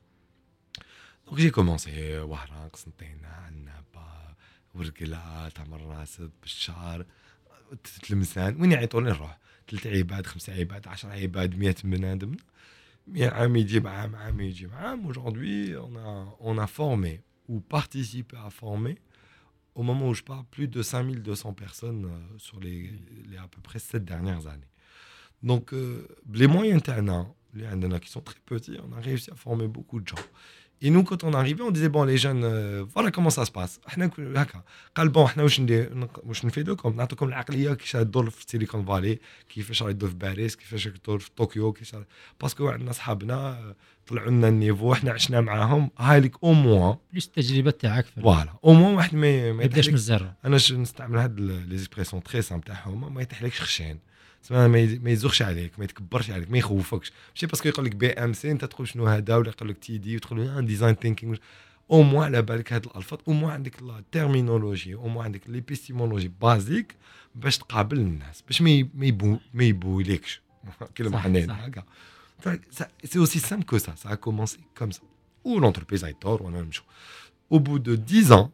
B: دونك جي كومونسي وهران قسنطينه عنابه ورقله تمر راسد بالشهر تلمسان وين يعيطوا لي نروح 3 عباد 5 عباد 10 عباد 100 بنادم 100 عام يجيب عام يجيب عام. Aujourd'hui on a formé ou participé à former au moment où je parle plus de 5200 personnes sur les à peu près 7 dernières années. Donc les moyens qui sont très petits, on a réussi à former beaucoup de gens. Et nous, quand on arrivait, on disait, bon, les jeunes, voilà comment ça se passe. قال bon, احنا واش نفيدوكم نعطيكم العقليه كيفاش تدور في سيليكون فالي كيفاش راهي تدور في باريس كيفاش تدور في طوكيو كيفاش باسكو عندنا صحابنا طلعوا لنا النيفو احنا عشنا معاهم هاي لك او موان بليس
A: التجربه تاعك
B: فوالا او موان واحد ما
A: يبداش من الزيرو.
B: انا نستعمل هاد لي زيكسبريسيون تري سامبل تاعهم ما يتحلكش خشين ما يزوخش عليك ما يتكبرش عليك ما يخوفكش ماشي باسكو يقول لك بي ام سي انت تقول شنو هذا ولا يقول لك تي دي وتقول ديزاين ثينكينغ او موان على بالك هاد الالفاظ او موان عندك لا تيرمينولوجي او موان عندك ليبيستيمولوجي بازيك باش تقابل الناس باش ما يبوليكش كلمه حنين هكا. سي اوسي سامبل كو سا a commencé comme ça ou l'entreprise a tort on a même chose. Au bout de 10 ans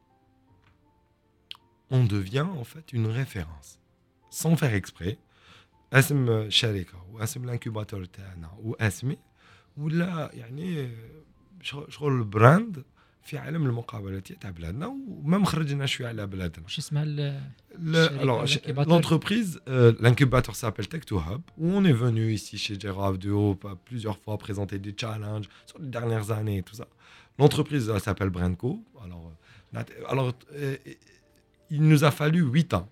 B: on devient en fait une référence sans faire exprès. اسم شركه واسم الانكوباتور تاعنا واسمي ولا يعني شغل البراند في عالم المقاولات تاع بلادنا وما مخرجناش فيه على بلادنا.
A: واش اسمها
B: l'entreprise l'incubateur s'appelle Tech2Hub où on est venu ici chez Gérard Duo plusieurs fois présenter des challenges sur les dernières années et tout ça. L'entreprise s'appelle Brandco. Alors il nous a fallu 8 ans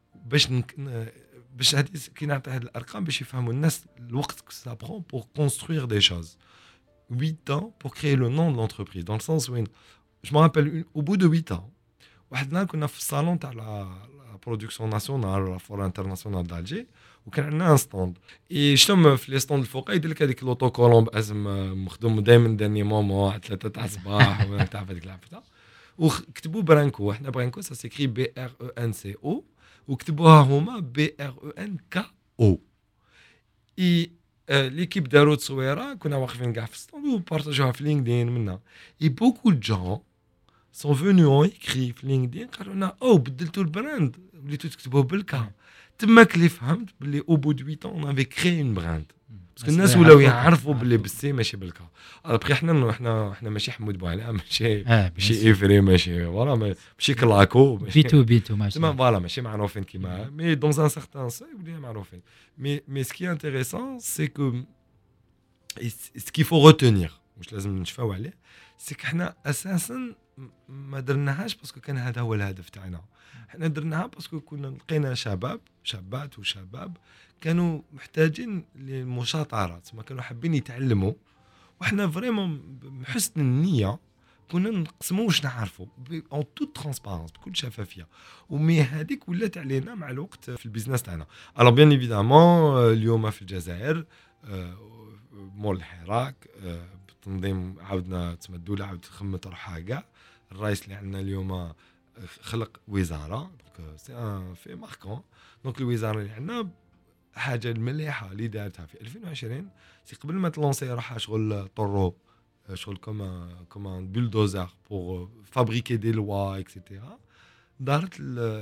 B: باش هذه كي نعطي هذه الارقام باش يفهموا الناس الوقت ça prend pour construire des choses. 8 ans pour créer le nom de l'entreprise dans le sens où je me rappelle au bout de 8 ans وحدنا كنا في الصالون تاع لا برودكسيون ناسيونال ولا فور انترناسيونال دالجي وكان عندنا ستوند شتم في لي ستوند الفوق يدير لك هذيك لوتو كولوم باسم مخدوم دائما داني مومو 3 تاع الصباح ولا تعرف هذيك العفته وكتبوا برانكو. احنا برانكو سا سيكري بي ار او ان سي او وكتبوها هما بي ار او ان كا او. اي ليكيب داروا تصويره كنا واقفين كاع في الستوند وبارطاجوها في لينكدين منا اي بوكو دو جون سون فونو اون ايكري في لينكدين قالوا لنا او بدلتوا البراند وليتوا تكتبوه بالكا. تماك اللي فهمت باللي او بو دو 8 اون افي كري اون براند باسكو الناس ولاو يعرفوا باللي بالسي ماشي بالكا. ابخي احنا ماشي حمود بوعلا ماشي ايفري ماشي فوالا ماشي كلاكو
A: بيتو
B: ماشي فوالا ماشي معروفين كيما مي دون ان سارتان سي ولينا معروفين. مي سكي انتريسون سي كو سكي فو روتونير واش لازم نشفاو عليه سي احنا اساسا ما درناهاش باسكو كان هذا هو الهدف تاعنا. احنا درناها باسكو كنا لقينا شابات وشباب كانوا محتاجين للمشاطرات ما كانوا حابين يتعلموا وحنا فريمون بحسن النيه كنا نقسموا واش نعرفوا اون توت ترانسبارونس بكل شفافيه. ومي هذيك ولات علينا مع الوقت في البيزنس تاعنا. الو بيان ايفيدامون اليوم في الجزائر مول الحراك بالتنظيم عاودنا تسمى الدوله عاودت تخمت روحها كاع. الرئيس اللي عندنا اليوم خلق وزاره دونك سي في ماركون. دونك الوزاره اللي عندنا حاجه المليحه اللي دارتها في 2020 سي قبل ما تلونسي روحها شغل طرو شغل كوم بولدوزر بور فابريكي دي لوا اكسيتيرا دارت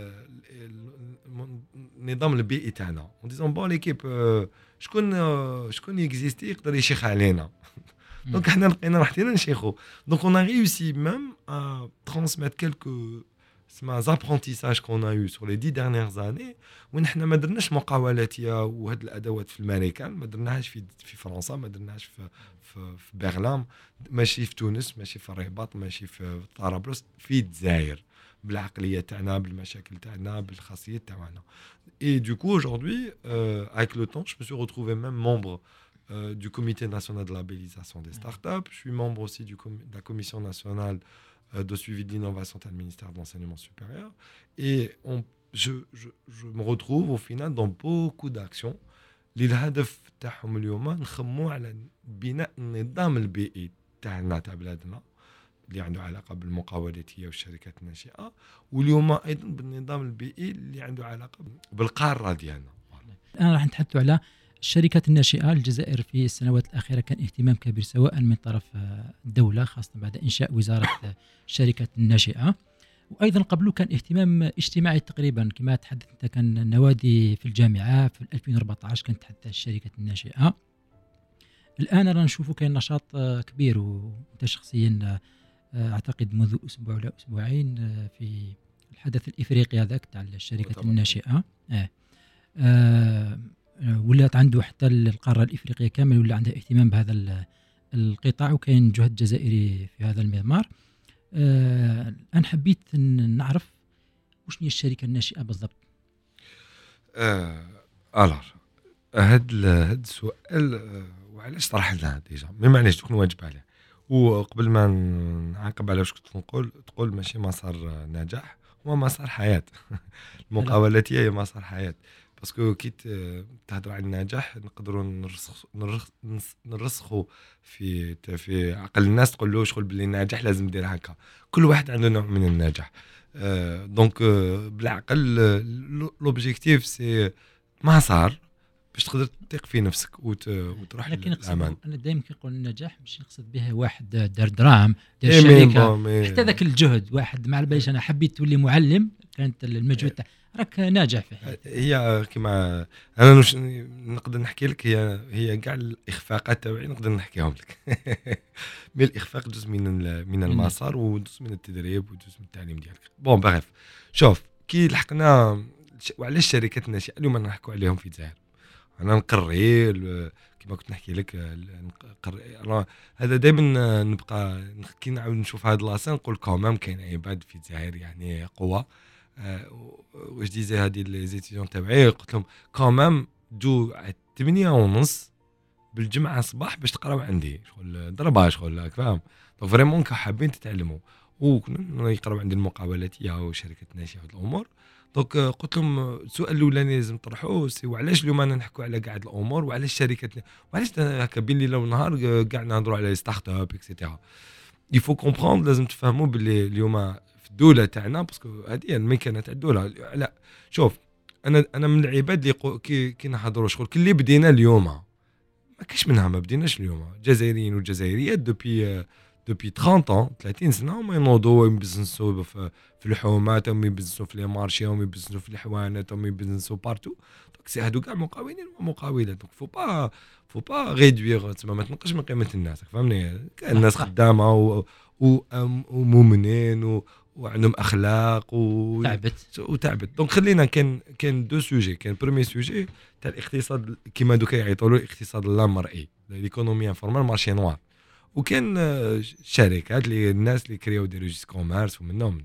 B: النظام البيئي تاعنا. اون ديزون بون ليكيب شكون يكزيستي يقدر يشيخ علينا دونك حنا لقينا راحتنا نشيخو. دونك on a réussi même à transmettre quelques apprentissages qu'on a eu sur les 10 dernières années وين حنا ما درناش مقاولاتيه وهاد الادوات في الامريكان، ما درناهاش في فرنسا، ما درناهاش في برلين، ماشي في تونس، ماشي في الرباط، ماشي في طرابلس، في الجزائر، بالعقليه تاعنا، بالمشاكل تاعنا، بالخاصيات تاعنا. Et du coup aujourd'hui avec le temps je me suis retrouvé même membre du comité national de labellisation des startups. Je suis membre aussi de la commission nationale de suivi de l'innovation du ministère de l'enseignement supérieur. Et je me retrouve au final dans beaucoup d'actions. للهدف تاعهم اليوم نخموا على بناء النظام البيئي تاعنا تاع بلادنا اللي عنده علاقة بالمقاولاتية والشركات الناشئة، واليوم أيضا بالنظام البيئي اللي عنده علاقة بالقارة ديالنا.
A: الآن راح نتحدث على الشركات الناشئة. الجزائر في السنوات الأخيرة كان اهتمام كبير سواء من طرف الدولة خاصة بعد إنشاء وزارة الشركات الناشئة، وأيضا قبله كان اهتمام اجتماعي تقريبا كما تحدثت. كان النوادي في الجامعة في 2014 كانت تحدث الشركات الناشئة. الآن رانا نشوفوا كان نشاط كبير، وأنت شخصيا أعتقد منذ أسبوع ولا أسبوعين في الحدث الإفريقي هذاك تاع الشركات الناشئة ولات عنده حتى القارة الإفريقية كامل ولا عندها اهتمام بهذا القطاع، وكاين جهد جزائري في هذا المضمار. الآن حبيت نعرف وش هي الشركة الناشئة بالضبط.
B: هاد السؤال وعلاش طرح لنا ديجا ما معناش تكون واجب عليه، وقبل ما نعاقب على واش كنت تقول ماشي مسار نجاح، هو مسار حياة. المقاولاتية هي مسار حياة، باسكو كي تهضر على النجاح نقدروا نرسخوا في عقل الناس، تقول له شغل باللي النجاح لازم دير هكا. كل واحد عنده نوع من النجاح. دونك بالعقل لوبجيكتيف سي مسار باش تقدر تثق في نفسك وتروح للأمان.
A: أنا دائما كنقول النجاح مش نقصد به واحد دار دراهم دار شركة، حتى ذاك الجهد. واحد ما على باليش أنا حبيت تولي معلم، كانت المجهود راك ناجح فيه.
B: هي كما انا نقدر نحكي لك، هي كاع الاخفاقات تاعي نقدر نحكيهم لك. مي الاخفاق جزء من المسار وجزء من التدريب وجزء من التعليم ديالك. بون بغيف شوف كي لحقنا وعلاش الشركات الناشئه اليوم نحكوا عليهم في الجزائر. انا نقري كما كنت نحكي لك هذا دائما نبقى كي نعاود نشوف هذا لاسين نقول كومام كاين عباد في الجزائر يعني قوه. واش ديزي هادي لي زيتيديون تاعي قلت لهم كومام جو 8:30 بالجمعه صباح باش تقراو عندي شغل ضربه شغل فاهم. دونك فريمون حابين تتعلموا وكنا يقراو عندي المقاولاتيه وشركات ناشئه الامور. دونك قلت لهم السؤال الاولاني لازم تطرحوه سي وعلاش اليوم انا نحكوا على قاعد الامور، وعلاش الشركات، وعلاش هكا بين الليل والنهار قاعد نهضروا على ستارت اب اكسيتيرا. يفو كومبروند لازم تفهموا باللي اليوم الدولة تاعنا باسكو هذه الميكانة تاع الدولة. لا شوف انا من العباد اللي كي نحضروا شغل كل اللي بدينا اليوم ما كاش منها، ما بديناش اليوم. جزائريين وجزائريات دوبي 30 سنه هما ينوضوا يبزنسوا في الحومات، هم يبزنسوا في لي مارشي، هم يبزنسوا في الحوانات، هم يبزنسوا بارتو. دونك سي هادو كاع مقاولين ومقاولات. دونك فو با ريدوير تما ما تنقصش من قيمه الناس، فهمني. كاين الناس خدامه ومؤمنين وعندهم اخلاق وتعبت. دونك خلينا كان دو سوجي. كان بريمي سوجي تاع الاقتصاد كيما دوكا يعيطوا له الاقتصاد اللامرئي، ليكونومي انفورمال مارشي نوار. وكان شركات اللي الناس اللي كرياو دي ريجيس كوميرس ومنهم.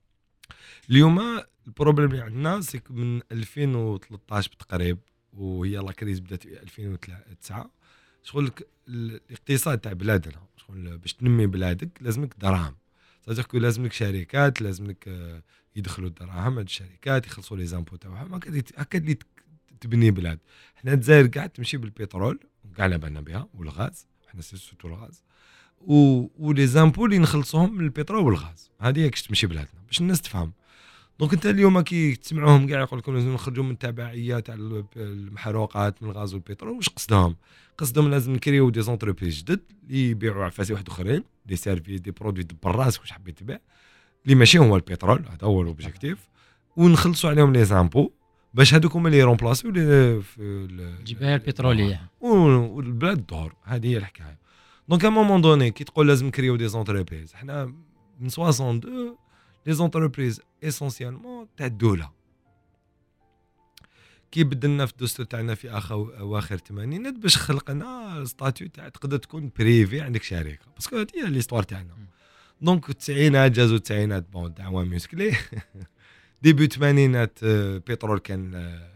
B: اليوم البروبليم اللي عندنا سي من 2013 بالتقريب، وهي لا كريز بدات في 2009. شغل الاقتصاد تاع بلادنا شغل باش تنمي بلادك لازمك دراهم، صدق لازمك شركات، لازمك يدخلوا الدراهم. هاد الشركات يخلصوا لي زامبو تاعهم، هكا اللي تبني بلاد. حنا الجزائر قاعد تمشي بالبترول كاع على بالنا بها والغاز، حنا سيرتو الغاز ولي زامبو اللي نخلصوهم من البترول والغاز. هذه كيش تمشي بلادنا باش الناس تفهم. دونك انت اليوم كي تسمعوهم كاع يقول لكم لازم نخرجوا من التبعيه تاع المحروقات من الغاز والبترول، واش قصدهم لازم نكريو دي زونتربريز جدد اللي يبيعوا عفاسي واحد اخرين دي سيرفيس دي برودوي بالراس واش حبيت تبيع اللي ماشي هو البترول. هذا هو الاوبجيكتيف، ونخلصوا عليهم لي زامبو باش هذوك هما اللي يرومبلاسيو في
A: الجبال البتروليه
B: والبلاد الدور. هذه هي الحكايه. دونك ا مومون دوني كي تقول لازم نكريو دي زونتربريز حنا من 62 لي زونتربريز اسونسيالمون تاع الدوله كي بدلنا في الدستور تاعنا في اواخر الثمانينات باش خلقنا ستاتيو تاع تقدر تكون بريفي عندك شركه باسكو هذه هي ليستوار تاعنا دونك التسعينات جازو التسعينات بون دعوه موسكلي ديبي الثمانينات بترول كان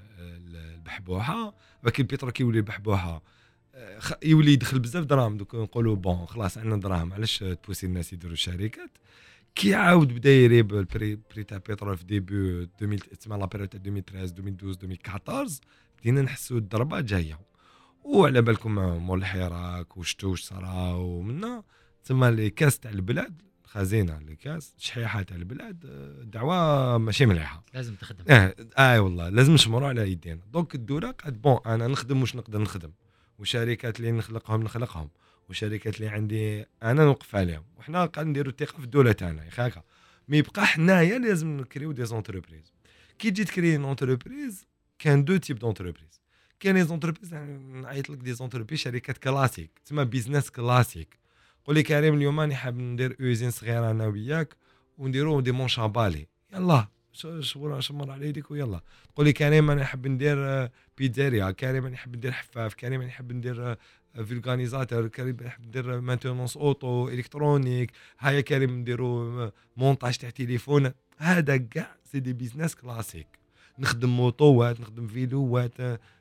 B: البحبوحه ولكن البترول كيولي البحبوحه يولي يدخل بزاف دراهم دوك نقولوا بون خلاص عندنا دراهم علاش تبوسي الناس يديروا الشركات كي عاود بدا يريب البري تاع البترول في ديبي 2000 تسمى لا بيريود 2013 2012 2014 بدينا نحسوا الضربه جايه وعلى بالكم مول الحراك وشتو واش صرا ومنا تسمى لي كاس تاع البلاد خزينه لي كاس شحيحه تاع البلاد دعوه ماشي مليحه
A: لازم تخدم
B: والله لازم نشمروا على يدينا دونك الدوله قالت بون انا نخدم واش نقدر نخدم وشركات اللي نخلقهم وشركات اللي عندي انا نوقف عليهم وحنا قاعد نديروا الثقه في الدوله تاعنا يا خاكا مي يبقى حنايا لازم نكريو دي زونتربريز كي تجي تكري اونتربريز كان دو تيب دونتربريز كاين لي زونتربريز نعيط لك دي زونتربريز شركات كلاسيك تسمى بيزنس كلاسيك قول لي كريم اليوم راني حاب ندير اوزين صغيره انا وياك ونديروا دي مونشابالي يلا شمر على يديك ويلا تقول لي كريم انا حاب ندير بيتزاريا كريم انا حاب ندير حفاف كريم انا حاب ندير فيلغانيزاتور كريم حاب ندير مانتونونس اوتو الكترونيك هيا كريم نديروا مونتاج تاع تليفون هذا كاع سي دي بيزنس كلاسيك نخدم موطوات نخدم فيلوات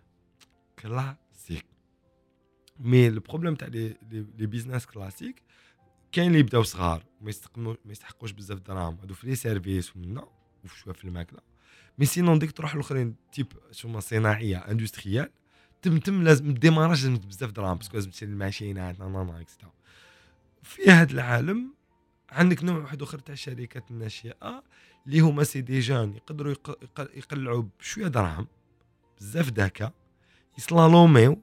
B: كلاسيك مي البروبليم تاع لي بيزنس كلاسيك كاين اللي يبداو صغار ما يستحقوش بزاف دراهم هادو في لي سيرفيس ومنا وشويه في الماكله مي سينون ديك تروح الاخرين تيب شوما صناعيه اندستريال تم لازم ديماراج لازم بزاف دراهم باسكو لازم تشري الماشينات اكسترا في هذا العالم عندك نوع واحد اخر تاع الشركات الناشئه اللي هما سي دي جان يقدروا يقلعوا بشويه دراهم بزاف ذكاء يسلالوميو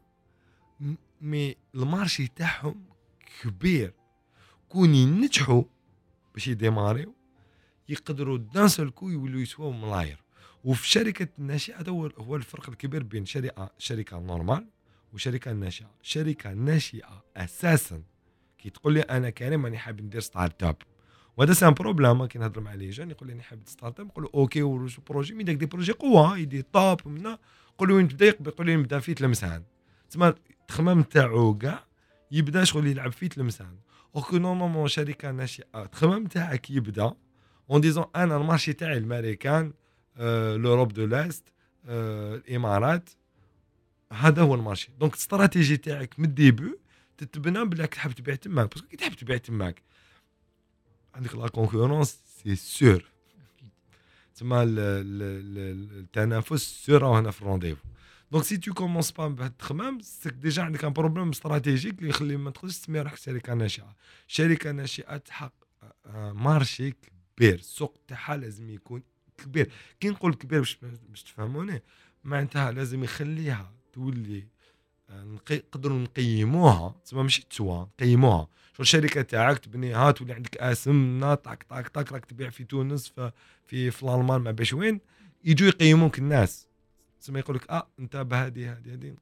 B: مي المارشي تاعهم كبير كون ينجحوا باش يديماريو يقدروا دان سول كو يولوا يسواو ملاير وفي شركه الناشئه هو الفرق الكبير بين شركه نورمال وشركه ناشئه شركه ناشئه اساسا كي تقول لي انا كريم راني حاب ندير ستارت اب وهذا سان بروبليم كي نهضر مع لي جون يقول لي انا حاب ستارت اب نقول له اوكي وش بروجي مي داك دي بروجي قوه يدي طاب منا نقول له وين تبدا يقول لي نبدا في تلمسان تسمى التخمام تاعو كاع يبدا شغل يلعب في تلمسان اوكي نورمالمون شركه ناشئه التخمام تاعك يبدا اون ديزون انا المارشي تاعي الامريكان لوروب دو لاست الامارات هذا هو المارشي دونك الاستراتيجي تاعك من الديبو تتبنى بلاك تحب تبيع تماك باسكو كي تحب تبيع تماك عندك لا كونكورونس سي سور تسمى التنافس سور هنا في الرونديفو دونك سي تو كومونس با بهاد التخمام سيك ديجا عندك ان بروبليم استراتيجيك اللي يخلي ما تقدرش تسمي روحك شركه ناشئه شركه ناشئه تحقق مارشي كبير السوق تاعها لازم يكون كبير كي نقول كبير باش تفهموني معناتها لازم يخليها تولي نقدروا نقيموها تسمى ماشي تسوى نقيموها شو الشركه تاعك تبنيها تولي عندك اسم طاك طاك طاك راك تبيع في تونس في الالمان ما باش وين يجوا يقيموك الناس تسمى يقول لك انت بهذه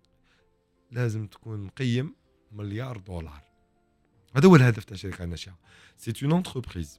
B: لازم تكون مقيم $1 مليار هذا هو الهدف تاع الشركه الناشئه سي اون انتربريز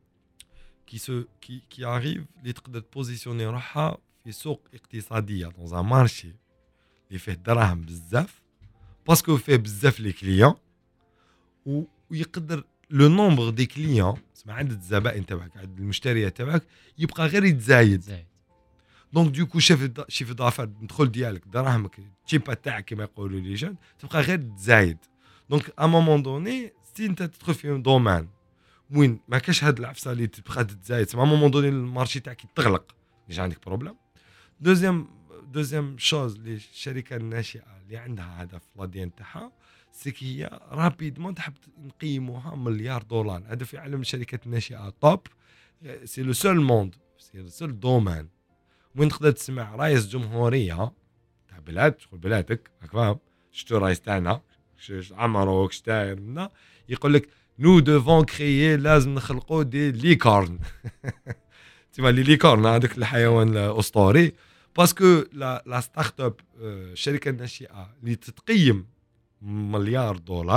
B: qui arrive اللي تقدر تبوزيسيوني روحها في سوق اقتصاديه دون ان مارشي اللي فيه دراهم بزاف باسكو فيه بزاف لي كليون ويقدر لو نومبر دي كليون تسمع عدد الزبائن تاعك عدد المشتريات تاعك يبقى غير يتزايد دونك دوكو شيف دافير ندخل ديالك دراهمك تشيبا تاعك كما يقولوا لي جون تبقى غير تزايد دونك ا مومون دوني سي انت تدخل في دومان وين ما كاش هاد العفسه اللي تبقى تزايد سما مومون دوني المارشي تاعك تغلق ديجا عندك بروبليم دوزيام شوز اللي الشركه الناشئه اللي عندها هدف لا دي تاعها سكي هي رابيدمون تحب نقيموها $1 مليار هذا في عالم الشركات الناشئه توب سي لو سول موند سي لو سول دومان وين تقدر تسمع رئيس جمهوريه تاع بلاد شغل بلادك راك فاهم شتو رئيس تاعنا عمروك شتاير منا يقول لك نو دوفون كريي لازم نخلقوا دي ليكورن تسمى لي ليكورن هذاك الحيوان الاسطوري باسكو لا ستارت اب الشركه الناشئه اللي تتقيم $1 مليار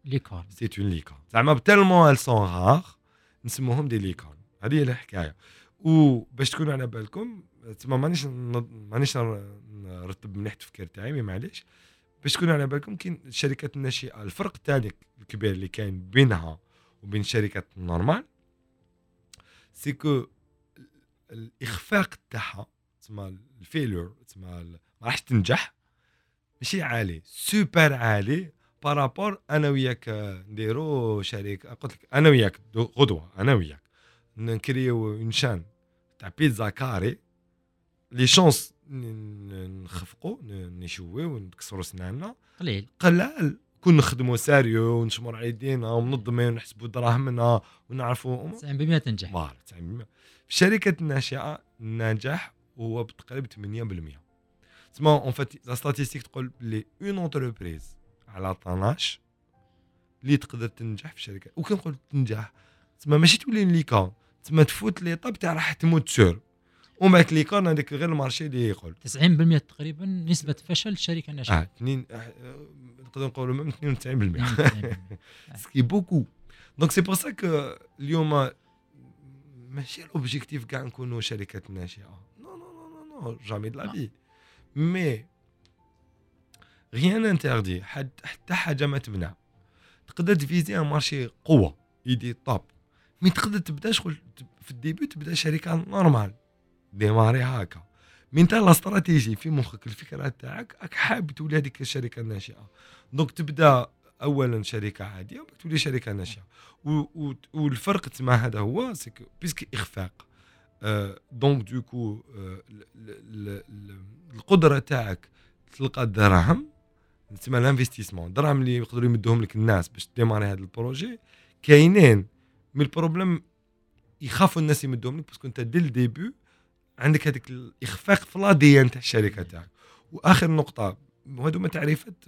A: ليكورن.
B: سي اون ليكورن زعما تالمون ال سون رار نسموهم دي ليكورن. هذه هي الحكايه. وباش تكونوا على بالكم تما مانيش نرتب مليح التفكير تاعي مي معليش باش تكونوا على بالكم كاين الشركات الناشئه الفرق الثاني الكبير اللي كاين بينها وبين الشركات النورمال سي كو الاخفاق تاعها تسمى الفيلور تسمى ما راحش تنجح ماشي عالي سوبر عالي بارابور انا وياك نديرو شركه قلت لك انا وياك غدوه انا وياك نكريو اون شان تاع بيتزا كاري لي شونس نخفقوا نشويو ونكسروا سناننا قلال كون نخدموا ساريو ونشمر على يدينا وننظموا ونحسبوا دراهمنا ونعرفوا
A: 90% تنجح.
B: 90% في الشركات الناشئه النجاح هو بتقريبا 8%. تسمى اون فات لا ستاتيستيك تقول بلي اون اونتربريز على 12 اللي تقدر تنجح في الشركه وكنقول تنجح تسمى ماشي تولي ليكا تسمى تفوت لي طاب تاع راح تموت سور ومن بعد ليكارن هذاك غير المارشي اللي يقول
A: 90% تقريبا نسبه فشل الشركه الناشئه.
B: اثنين نقدر نقولوا من 92% سكي بوكو. دونك سي بور سا كو اليوم ماشي لوبجيكتيف كاع نكونوا شركات ناشئه نو نو نو نو جامي دو لا في مي غيان انتردي حتى حاجه ما تمنع تقدر تفيزي ان مارشي قوه يدي طاب مي تقدر تبدا شغل في الديبي تبدا شركه نورمال ديماري هكا من تاع لا استراتيجي في مخك الفكره تاعك راك حاب تولي هذيك الشركه الناشئه دونك تبدا اولا شركه عاديه وبعد تولي شركه ناشئه والفرق تما هذا هو سكو بيسك اخفاق دونك دوكو القدره تاعك تلقى الدراهم تسمى الانفستيسمون الدراهم اللي يقدروا يمدوهم لك الناس باش ديماري هذا البروجي كاينين مي البروبليم يخافوا الناس يمدوهم لك باسكو انت دي الديبي عندك هذيك الاخفاق في لا دي ان تاع الشركه تاعك. واخر نقطه وهذو ما تعريفات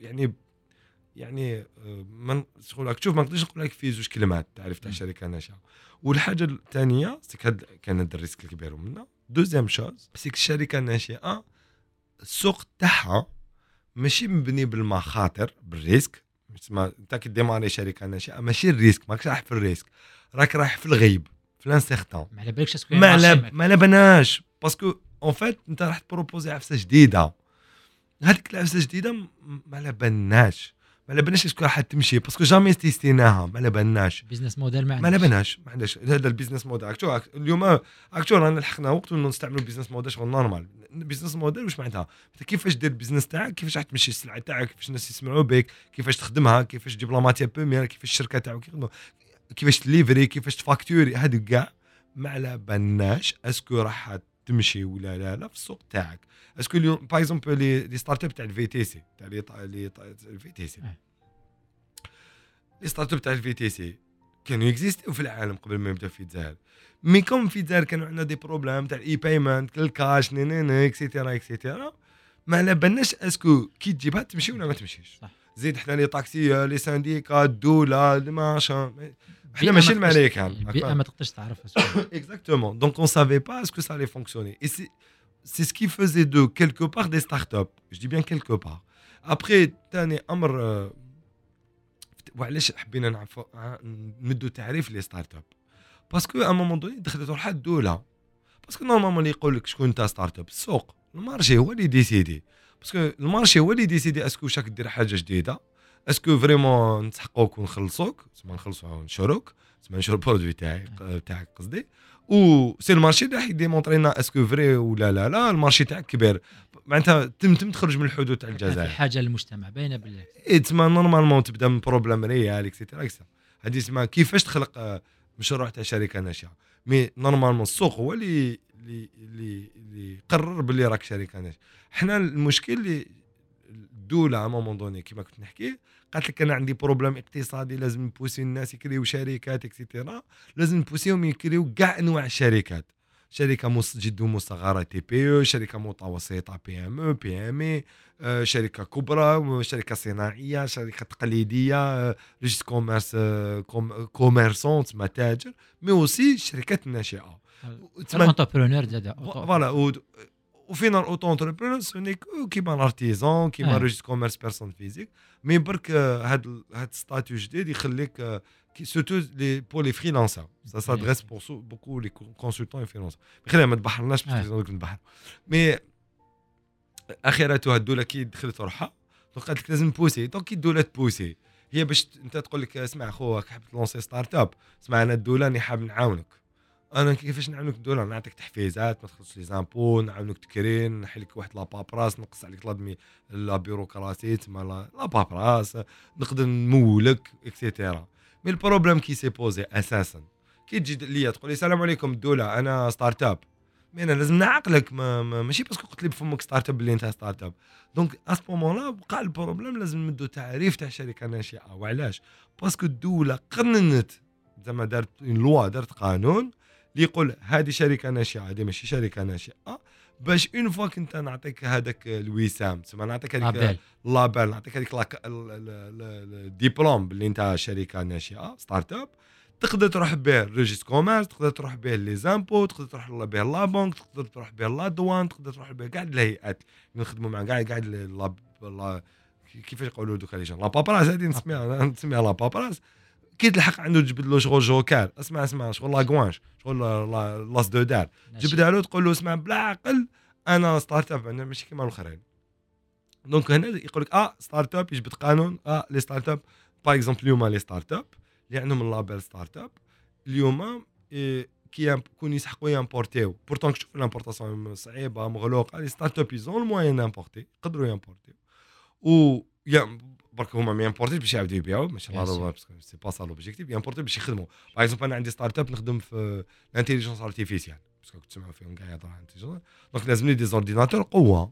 B: يعني من شغل راك تشوف ما نقدرش نقول لك في زوج كلمات تعريف تاع الشركه الناشئه. والحاجه الثانيه كان هذا الريسك الكبير منها دوزيام شوز سيك الشركه الناشئه السوق تاعها ماشي مبني بالمخاطر بالريسك تسمى انت كديماري شركه ناشئه ماشي الريسك ماكش رايح في الريسك راك رايح في الغيب في لانسيغتان
A: ما على بالكش اسكو
B: ما على بناش باسكو اون فيت انت راح تبروبوزي عفسه جديده هذيك العفسه الجديده ما على بالناش اسكو راح تمشي باسكو جامي تيستيناها ما على بالناش
A: بيزنس موديل ما
B: على بالناش ما عندناش هذا البيزنس موديل اكتو اليوم اكتو رانا لحقنا وقت نستعملوا البيزنس موديل شغل نورمال البيزنس موديل واش معناتها كيفاش دير البيزنس تاعك كيفاش راح تمشي السلعه تاعك كيفاش الناس يسمعوا بك كيفاش تخدمها كيفاش تجيب لا ماتير بروميير كيفاش الشركه تاعك كيفاش تليفري كيفاش تفاكتوري هذا كاع ما على بالناش اسكو راح تمشي ولا لا في السوق تاعك اسكو اليوم باغ اكزومبل لي ستارت اب تاع الفي تي سي تاع الفي تي سي لي ستارت اب تاع الفي تي سي كانوا اكزيستيو في العالم قبل ما يبدا في الجزائر مي كوم في الجزائر كانوا عندنا دي بروبليم تاع الاي بايمنت الكاش اكسيتيرا ما على بالناش اسكو كي تجيبها تمشي ولا ما تمشيش صح. زيد حنا لي طاكسي لي سانديكا الدوله ماشا حنا ماشي الملايكه
A: البيئه ما تقدرش تعرف
B: اكزاكتومون دونك اون سافي با اسكو سا لي فونكسيوني اي سي سكي فازي دو كيلكو بار دي ستارت اب جو دي بيان كيلكو بار ابري ثاني امر وعلاش حبينا نعرفوا نمدوا تعريف لي ستارت اب باسكو ا مومون دوني دخلت روحها الدوله باسكو نورمالمون اللي يقول لك شكون انت ستارت اب السوق المارشي هو اللي ديسيدي باسكو المارشي هو اللي ديسيدي اسكو شاك دير حاجه جديده اسكو فريمون نسحقوك ونخلصوك تسمى نخلصوا ونشروك تسمى نشرو البرودوي تاعك قصدي و سي المارشي اللي راح يديمونطري لنا اسكو فري ولا لا المارشي تاعك كبير معناتها تم تخرج من الحدود تاع الجزائر
A: في حاجه للمجتمع باينه بالله
B: تسمى نورمالمون تبدا من بروبليم ريال اكسيتيرا هذه اسمها كيفاش تخلق مشروع تاع شركه ناشئه مي نورمالمون السوق هو اللي قرر باللي راك شركه ناشئه. حنا المشكل اللي الدوله ا مومون دوني كيما كنت نحكي قالت لك انا عندي بروبليم اقتصادي لازم نبوسي الناس يكريو شركات اكسيتيرا لازم نبوسيهم يكريو كاع انواع الشركات شركه جد مصغره تي بي او شركه متوسطه بي ام او بي ام اي شركه كبرى شركه صناعيه شركه تقليديه ريجيست كوميرس كوميرسون متاجر مي اوسي شركات ناشئه
A: تسمى انتربرونور زاد
B: فوالا وفينا الاوتو انتربرونور سوني كيما الارتيزون كيما ريجيست كوميرس بيرسون فيزيك مي برك هاد ستاتيو جديد يخليك سورتو لي بور لي فريلانسر سا سادريس بور بوكو لي كونسلتون اي فريلانسر خلينا ما تبحرناش باش نبحر مي اخرته الدوله كي دخلت روحها دونك قالت لك لازم نبوسي دونك كي الدوله تبوسي هي باش انت تقول لك اسمع خوك حاب تلونسي ستارت اب اسمع انا الدوله راني حاب نعاونك انا كيفاش نعاونك الدوله نعطيك تحفيزات ما تخلصش لي زامبو نعاونك تكرين نحل لك واحد لا بابراس نقص عليك لادمي لا بيروقراسي تما لا بابراس نقدر نمولك اكسيتيرا مي البروبليم كي سي بوزي اساسا كي تجي ليا تقول لي السلام عليكم الدوله انا ستارت اب مي انا لازم نعقلك ماشي باسكو قلت لي بفمك ستارت اب اللي انت ستارت اب دونك ا سبومون لا بقى البروبليم لازم نمدو تعريف تاع شركه ناشئه وعلاش باسكو الدوله قننت زعما دارت لوا دارت قانون اللي يقول هذه شركه ناشئه هذه ماشي شركه ناشئه باش اون فوا كنت نعطيك هذاك الوسام تسمى نعطيك هذيك لابيل نعطيك هذيك الدبلوم اللي انت شركه ناشئه ستارت اب تقدر تروح به ريجيست كوميرس تقدر تروح به لي زامبو تقدر تروح به لا بنك تقدر تروح به لا دوان تقدر تروح به كاع الهيئات اللي نخدموا مع كاع كيفاش يقولوا دوك لي جون لا بابراس هذه نسميها لا بابراس كي تلحق عنده تجبد له شغل جوكار اسمع شغل لاكوانش شغل لاس دو دار جبدها له تقول له اسمع بلا عقل انا ستارت اب انا ماشي كيما الاخرين دونك هنا يقول لك ستارت اب يجبد قانون لي ستارت اب باغ اكزومبل اليوم لي ستارت اب اللي عندهم اللابيل ستارت اب اليوم كي يكون يسحقوا يامبورتيو بورتون تشوف الامبورطاسيون صعيبه مغلوقه لي ستارت اب يزون الموين امبورتي يقدروا يامبورتيو و برك هما ما يامبورتيش باش يعاودوا يبيعوا ماشي لا سي با سا لوبجيكتيف يامبورتي باش يخدموا باغ اكزومبل انا عندي ستارت اب نخدم في الانتيليجنس ارتيفيسيال باسكو كنت تسمعوا فيهم كاع يهضروا على الانتيليجنس دونك لازمني دي زورديناتور قوه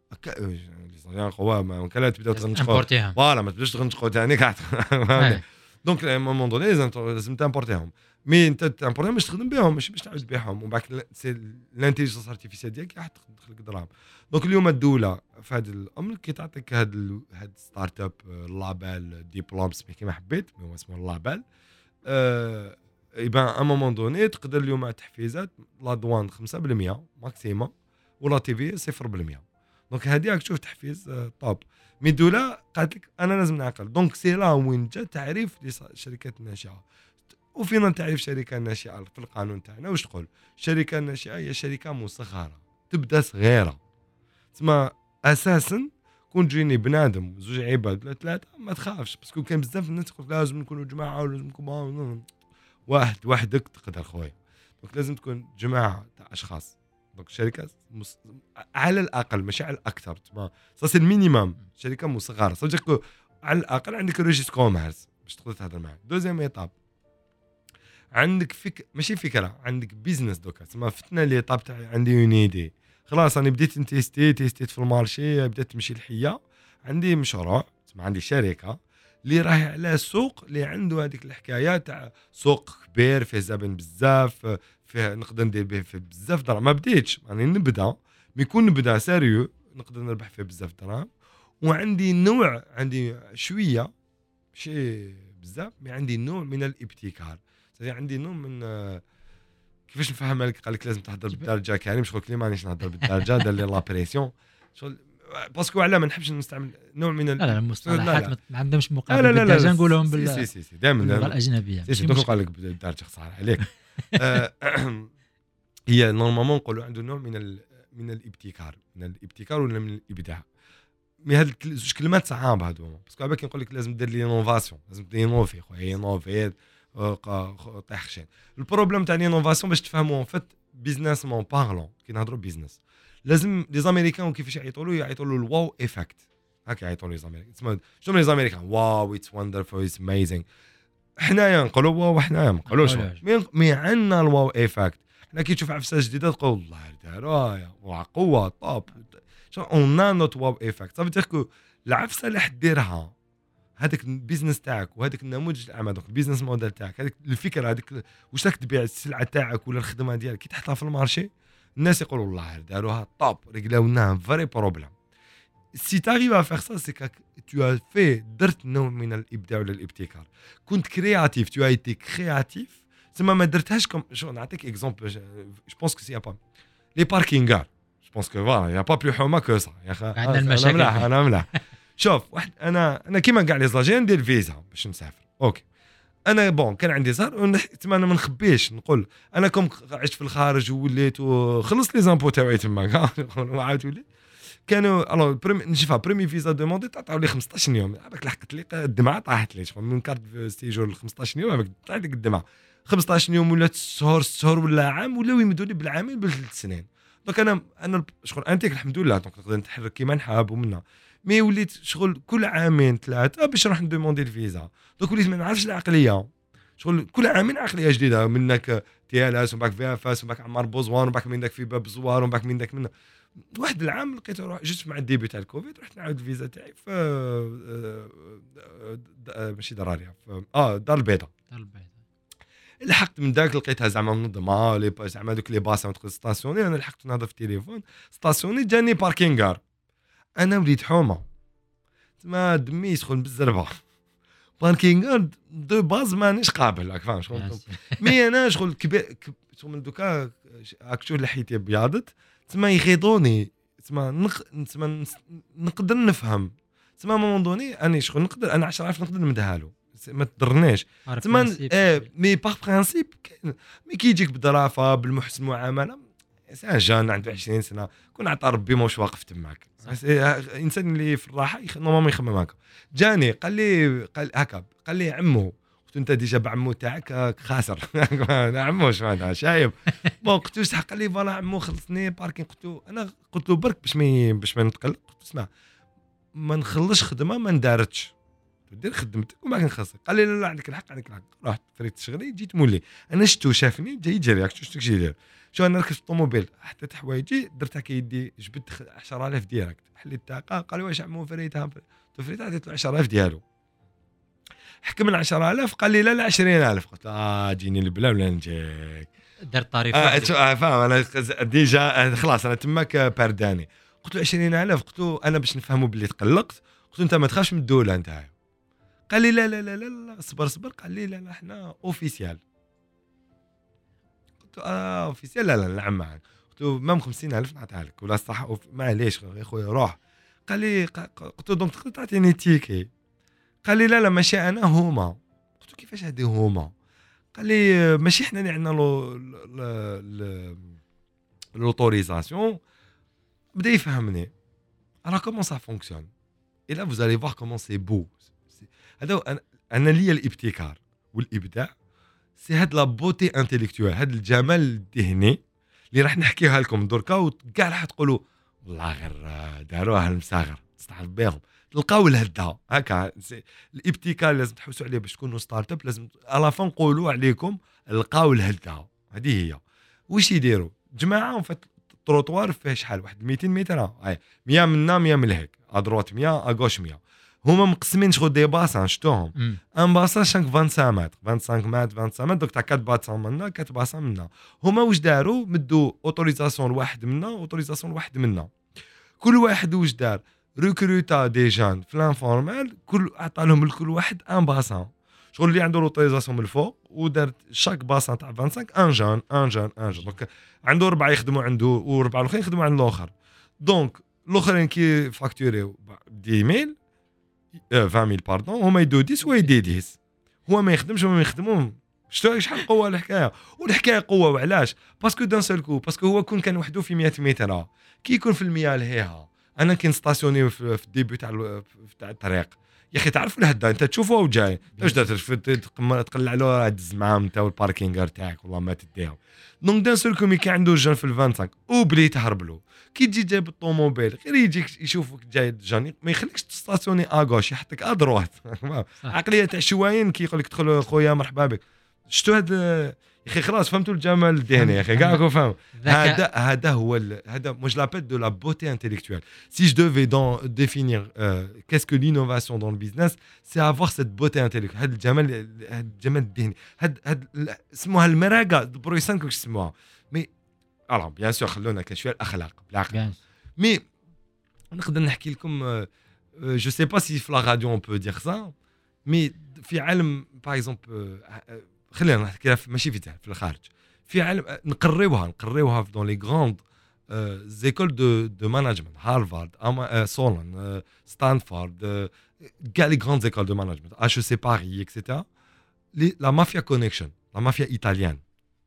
B: قوه ما كان تبداو تغنشقوا فوالا ما تبداوش تغنشقوا ثاني كاع دونك ا مومون دوني لازم تامبورتيهم مي انت تامبورتيهم باش تخدم بهم ماشي باش تعاود تبيعهم ومن بعد سي الانتيليجنس ارتيفيسيال ديالك راح تدخل لك دراهم دونك اليوم الدوله في هذا الامر كي تعطيك هاد ستارت اب لابيل ديبلوم سميه كيما حبيت هو اسمه لابيل يبان ا مومون دوني تقدر اليوم تحفيزات لا دوان 5% ماكسيموم ولا تي في 0% دونك هذه راك تشوف تحفيز طوب مي الدوله قالت لك انا لازم نعقل دونك سي لا وين جا تعريف للشركات الناشئه وفينا تعريف شركه ناشئه في القانون تاعنا واش تقول الشركه الناشئه هي شركه مصغره تبدا صغيره تسمى اساسا كون تجيني بنادم زوج عباد ولا ثلاثه ما تخافش باسكو كان بزاف الناس تقول لازم نكونوا جماعه ولازم نكونوا وحدك تقدر خويا دونك لازم تكون جماعه تاع اشخاص دونك شركه على الاقل ماشي على الاكثر تما سا المينيمم شركه مصغره صدق على الاقل عندك ريجيست كوميرس باش تقدر تهضر معاه دوزيام ايطاب عندك ماشي فكره عندك بيزنس دوكا تما فتنا لي طاب تاع عندي اون ايدي خلاص انا بديت تيستيت في المارشي بدات تمشي الحيه عندي مشروع تما عندي شركه اللي راهي على سوق اللي عنده هذيك الحكايه تاع سوق كبير فيه زبائن بزاف فيه نقدر ندير به في بزاف دراهم ما بديتش يعني نبدا يكون نبدا سيريو نقدر نربح فيه بزاف دراهم وعندي نوع عندي شويه شيء بزاف مي عندي نوع من الابتكار عندي نوع من كيفاش نفهمها لك قال لك لازم تهضر بالدارجه كريم مش قلت لي مانيش نهضر بالدارجه دار لي لا بريسيون شغل باسكو علاه ما نحبش نستعمل نوع من
A: لا المصطلحات ما عندهمش مقابل بالدارجه نقولهم
B: سي دائما
A: باللغه الاجنبيه
B: سي دوك قال لك بالدارجه خصها عليك هي نورمالمون نقولوا عنده نوع من الابتكار ولا من الابداع مي هاد زوج كلمات صعاب هادو باسكو عباك نقول لك لازم دير لي انوفاسيون لازم تينوفي خويا انوفي طيح خشين البروبليم تاع لينوفاسيون باش تفهموا ان فيت بيزنس مون بارلون كي نهضروا بيزنس لازم لي زاميريكان كيفاش يعيطوا له الواو ايفكت هكا يعيطوا لي زاميريكان تسمى شنو لي زاميريكان واو اتس وندرفول اتس اميزينغ حنايا نقولوا واو حنايا ما نقولوش مي عندنا الواو ايفكت حنا كي تشوف عفسه جديده تقول الله داروها وقوه طاب شو اون نوت واو ايفكت صافي تاكو العفسه اللي حديرها هذاك البيزنس تاعك وهذاك النموذج الاعمال دونك البيزنس موديل تاعك هذيك الفكره هذيك واش راك تبيع السلعه تاعك ولا الخدمه ديالك كي تحطها في المارشي الناس يقولوا والله داروها طوب رجلاونا فري بروبليم سي تاريف ا فير سا سي كا تو في درت نوع من الابداع ولا الابتكار كنت كرياتيف تو ايتي كرياتيف تما ما درتهاش كم شو نعطيك اكزومبل جو بونس كو سي با لي باركينغار بونس كو فوالا يا با بلو حومه كو صا يا اخي
A: عندنا المشاكل
B: انا ملاح شوف واحد انا كيما كاع لي زاجي ندير فيزا باش نسافر اوكي انا بون كان عندي زهر تما انا ما نخبيش نقول انا كوم عشت في الخارج ووليت وخلصت لي زامبو تاعي تما وعاود وليت كانوا الو نشوفها بريمي فيزا دوموندي تعطيو لي 15 يوم هذاك لحقت لي الدمعه طاحت لي من كارت سيجور ل 15 يوم هذاك طاحت لك الدمعه 15 يوم ولا 6 شهور ولا عام ولاو يمدوا لي بالعامين بالثلاث سنين دونك انا شغل انتيك الحمد لله دونك نقدر نتحرك كيما نحب ومنا مي وليت شغل كل عامين ثلاثه باش نروح ندوموندي الفيزا دونك وليت ما نعرفش العقليه شغل كل عامين عقليه جديده منك تي ال اس ومن بعد في اف اس ومن بعد عمار بوزوان ومن بعد منك في باب زوار ومن بعد منك من واحد العام لقيت روح جست مع الديبي تاع الكوفيد رحت نعاود الفيزا تاعي في ماشي دراريا دار البيضاء لحقت من داك لقيتها زعما منظمه لي زعما دوك لي باسا تقدر ستاسيوني انا لحقت نهضر في التليفون ستاسيوني جاني باركينغار انا وليت حومه تما دمي يسخن بالزربه باركينغار دو باز مانيش قابل راك فاهم شغل مي انا شغل كبير من دوكا اكشو لحيتي بياضت تما يخيطوني تما نقدر نفهم تما موندوني اني شغل نقدر انا 10,000 نقدر نمدها له ما تضرنيش تما مي باغ برينسيپ مي كي يجيك بدرافه بالمحسن المعامله انسان جان عنده 20 سنه كون عطى ربي موش واقف تماك الانسان اللي في الراحه نورمالمون يخمم هكا جاني قال هكا قال لي عمو قلت انت ديجا بعمو تاعك خاسر عمو واش معناتها شايب بون قلت له قال لي فوالا عمو خلصني باركين قلت له برك باش ما نتقلق قلت اسمع ما نخلصش خدمه ما ندارتش دير خدمتك وما كنخسر قال لي لا عندك الحق رحت فريت شغلي جيت مولي انا شفتو شافني جاي يجري شفتك شي يدير شو انا ركبت الطوموبيل حطيت حوايجي درتها كيدي جبت 10,000 ديريكت حليت الطاقه قال لي واش عمو فريتها فريت عطيت له 10,000 ديالو حكم ال 10,000 قال لي لا 20,000 قلت جيني البلا ولا نجيك
A: دار طريف
B: فاهم انا ديجا خلاص انا تماك بارداني قلت له 20,000 قلت له انا باش نفهموا باللي تقلقت قلت له انت ما تخافش من الدوله نتاعي قال لي لا لا لا لا صبر قال لي لا احنا اوفيسيال قلت له اوفيسيال لا نلعب معك قلت له مام 50,000 نعطيها لك ولا صح معليش يا خويا روح قال لي قلت له دونك تقدر تعطيني تيكي قال لي لا ماشي انا هما قلت له كيفاش هادي هما قال لي ماشي حنا اللي عندنا لوتوريزاسيون بدا يفهمني انا كومون سا فونكسيون اي لا فوز الي فوار كومون سي بو هذا انا ليا الابتكار والابداع سي هاد لا بوتي انتيليكتوال هاد الجمال الذهني اللي راح نحكيها لكم دركا وكاع راح تقولوا والله غير داروها المساغر تستعرف بهم تلقاو الهدا هكا الابتكار لازم تحوسوا عليه باش تكونوا ستارت اب لازم على فان نقولوا عليكم لقاو الهدا هذه هي واش يديروا جماعه في التروطوار فيه شحال واحد 200 متر 100 منا 100 من هيك ادروات 100 اغوش 100 هما مقسمين شغل دي باسان شفتوهم ان باسان شانك 25 متر 25 متر 25 متر دوك تاع 4 باسان منا 4 باسان منا هما واش داروا مدوا اوتوريزاسيون لواحد منا اوتوريزاسيون لواحد منا كل واحد واش دار ريكروتا دي جان في لانفورمال كل عطى لهم لكل واحد ان باسان شغل اللي عنده لوتوريزاسيون من الفوق ودار شاك باسان تاع 25 ان جان دونك عنده 4 يخدموا عنده و4 الاخرين يخدموا عند الاخر دونك الاخرين كي فاكتوريو 10,000 20,000 باردون هما يدو 10 ويدي 10 هو ما يخدمش هما يخدموهم شتو شحال قوه الحكايه والحكايه قوه وعلاش باسكو دان سول كو باسكو هو كون كان وحده في 100 متر كي يكون في المياه لهيها انا كي نستاسيوني في الديبي تاع الطريق يا اخي تعرف الهدا انت تشوفه وجاي واش درت تقلع له دز معاهم انت والباركينغ تاعك والله ما تديهم دونك دان سول كو كي عنده جان في ال 25 وبلي تهرب له كي تجي جايب الطوموبيل غير يجيك يشوفك جاي جاني ما يخليكش تستاسيوني اغوش يحطك ادروات عقليه تاع شواين كي يقول لك دخل خويا مرحبا بك شتو هذا يا اخي خلاص فهمتوا الجمال الذهني يا اخي كاع فاهم هذا هو هذا مو جو لابيل دو لا بوتي انتيليكتوال سي جو ديفي ديفينير كاس كو لينوفاسيون دون البيزنس سي افوار سيت بوتي انتيليكتوال هذا الجمال الذهني هذا اسموها المراقه برويسان كيفاش اسموها مي الو بيان سور خلونا كشويه الاخلاق بالعقل مي نقدر نحكي لكم جو سي با سي في لا راديو اون بو دير سا مي في عالم باغ اكزومبل خلينا نحكي ماشي في الخارج في عالم نقريوها في دون لي غراند زيكول دو مانجمنت هارفارد سولان ستانفورد كاع لي غراند زيكول دو مانجمنت اتش سي باري اكسيتيرا لا مافيا كونيكشن لا مافيا ايطاليان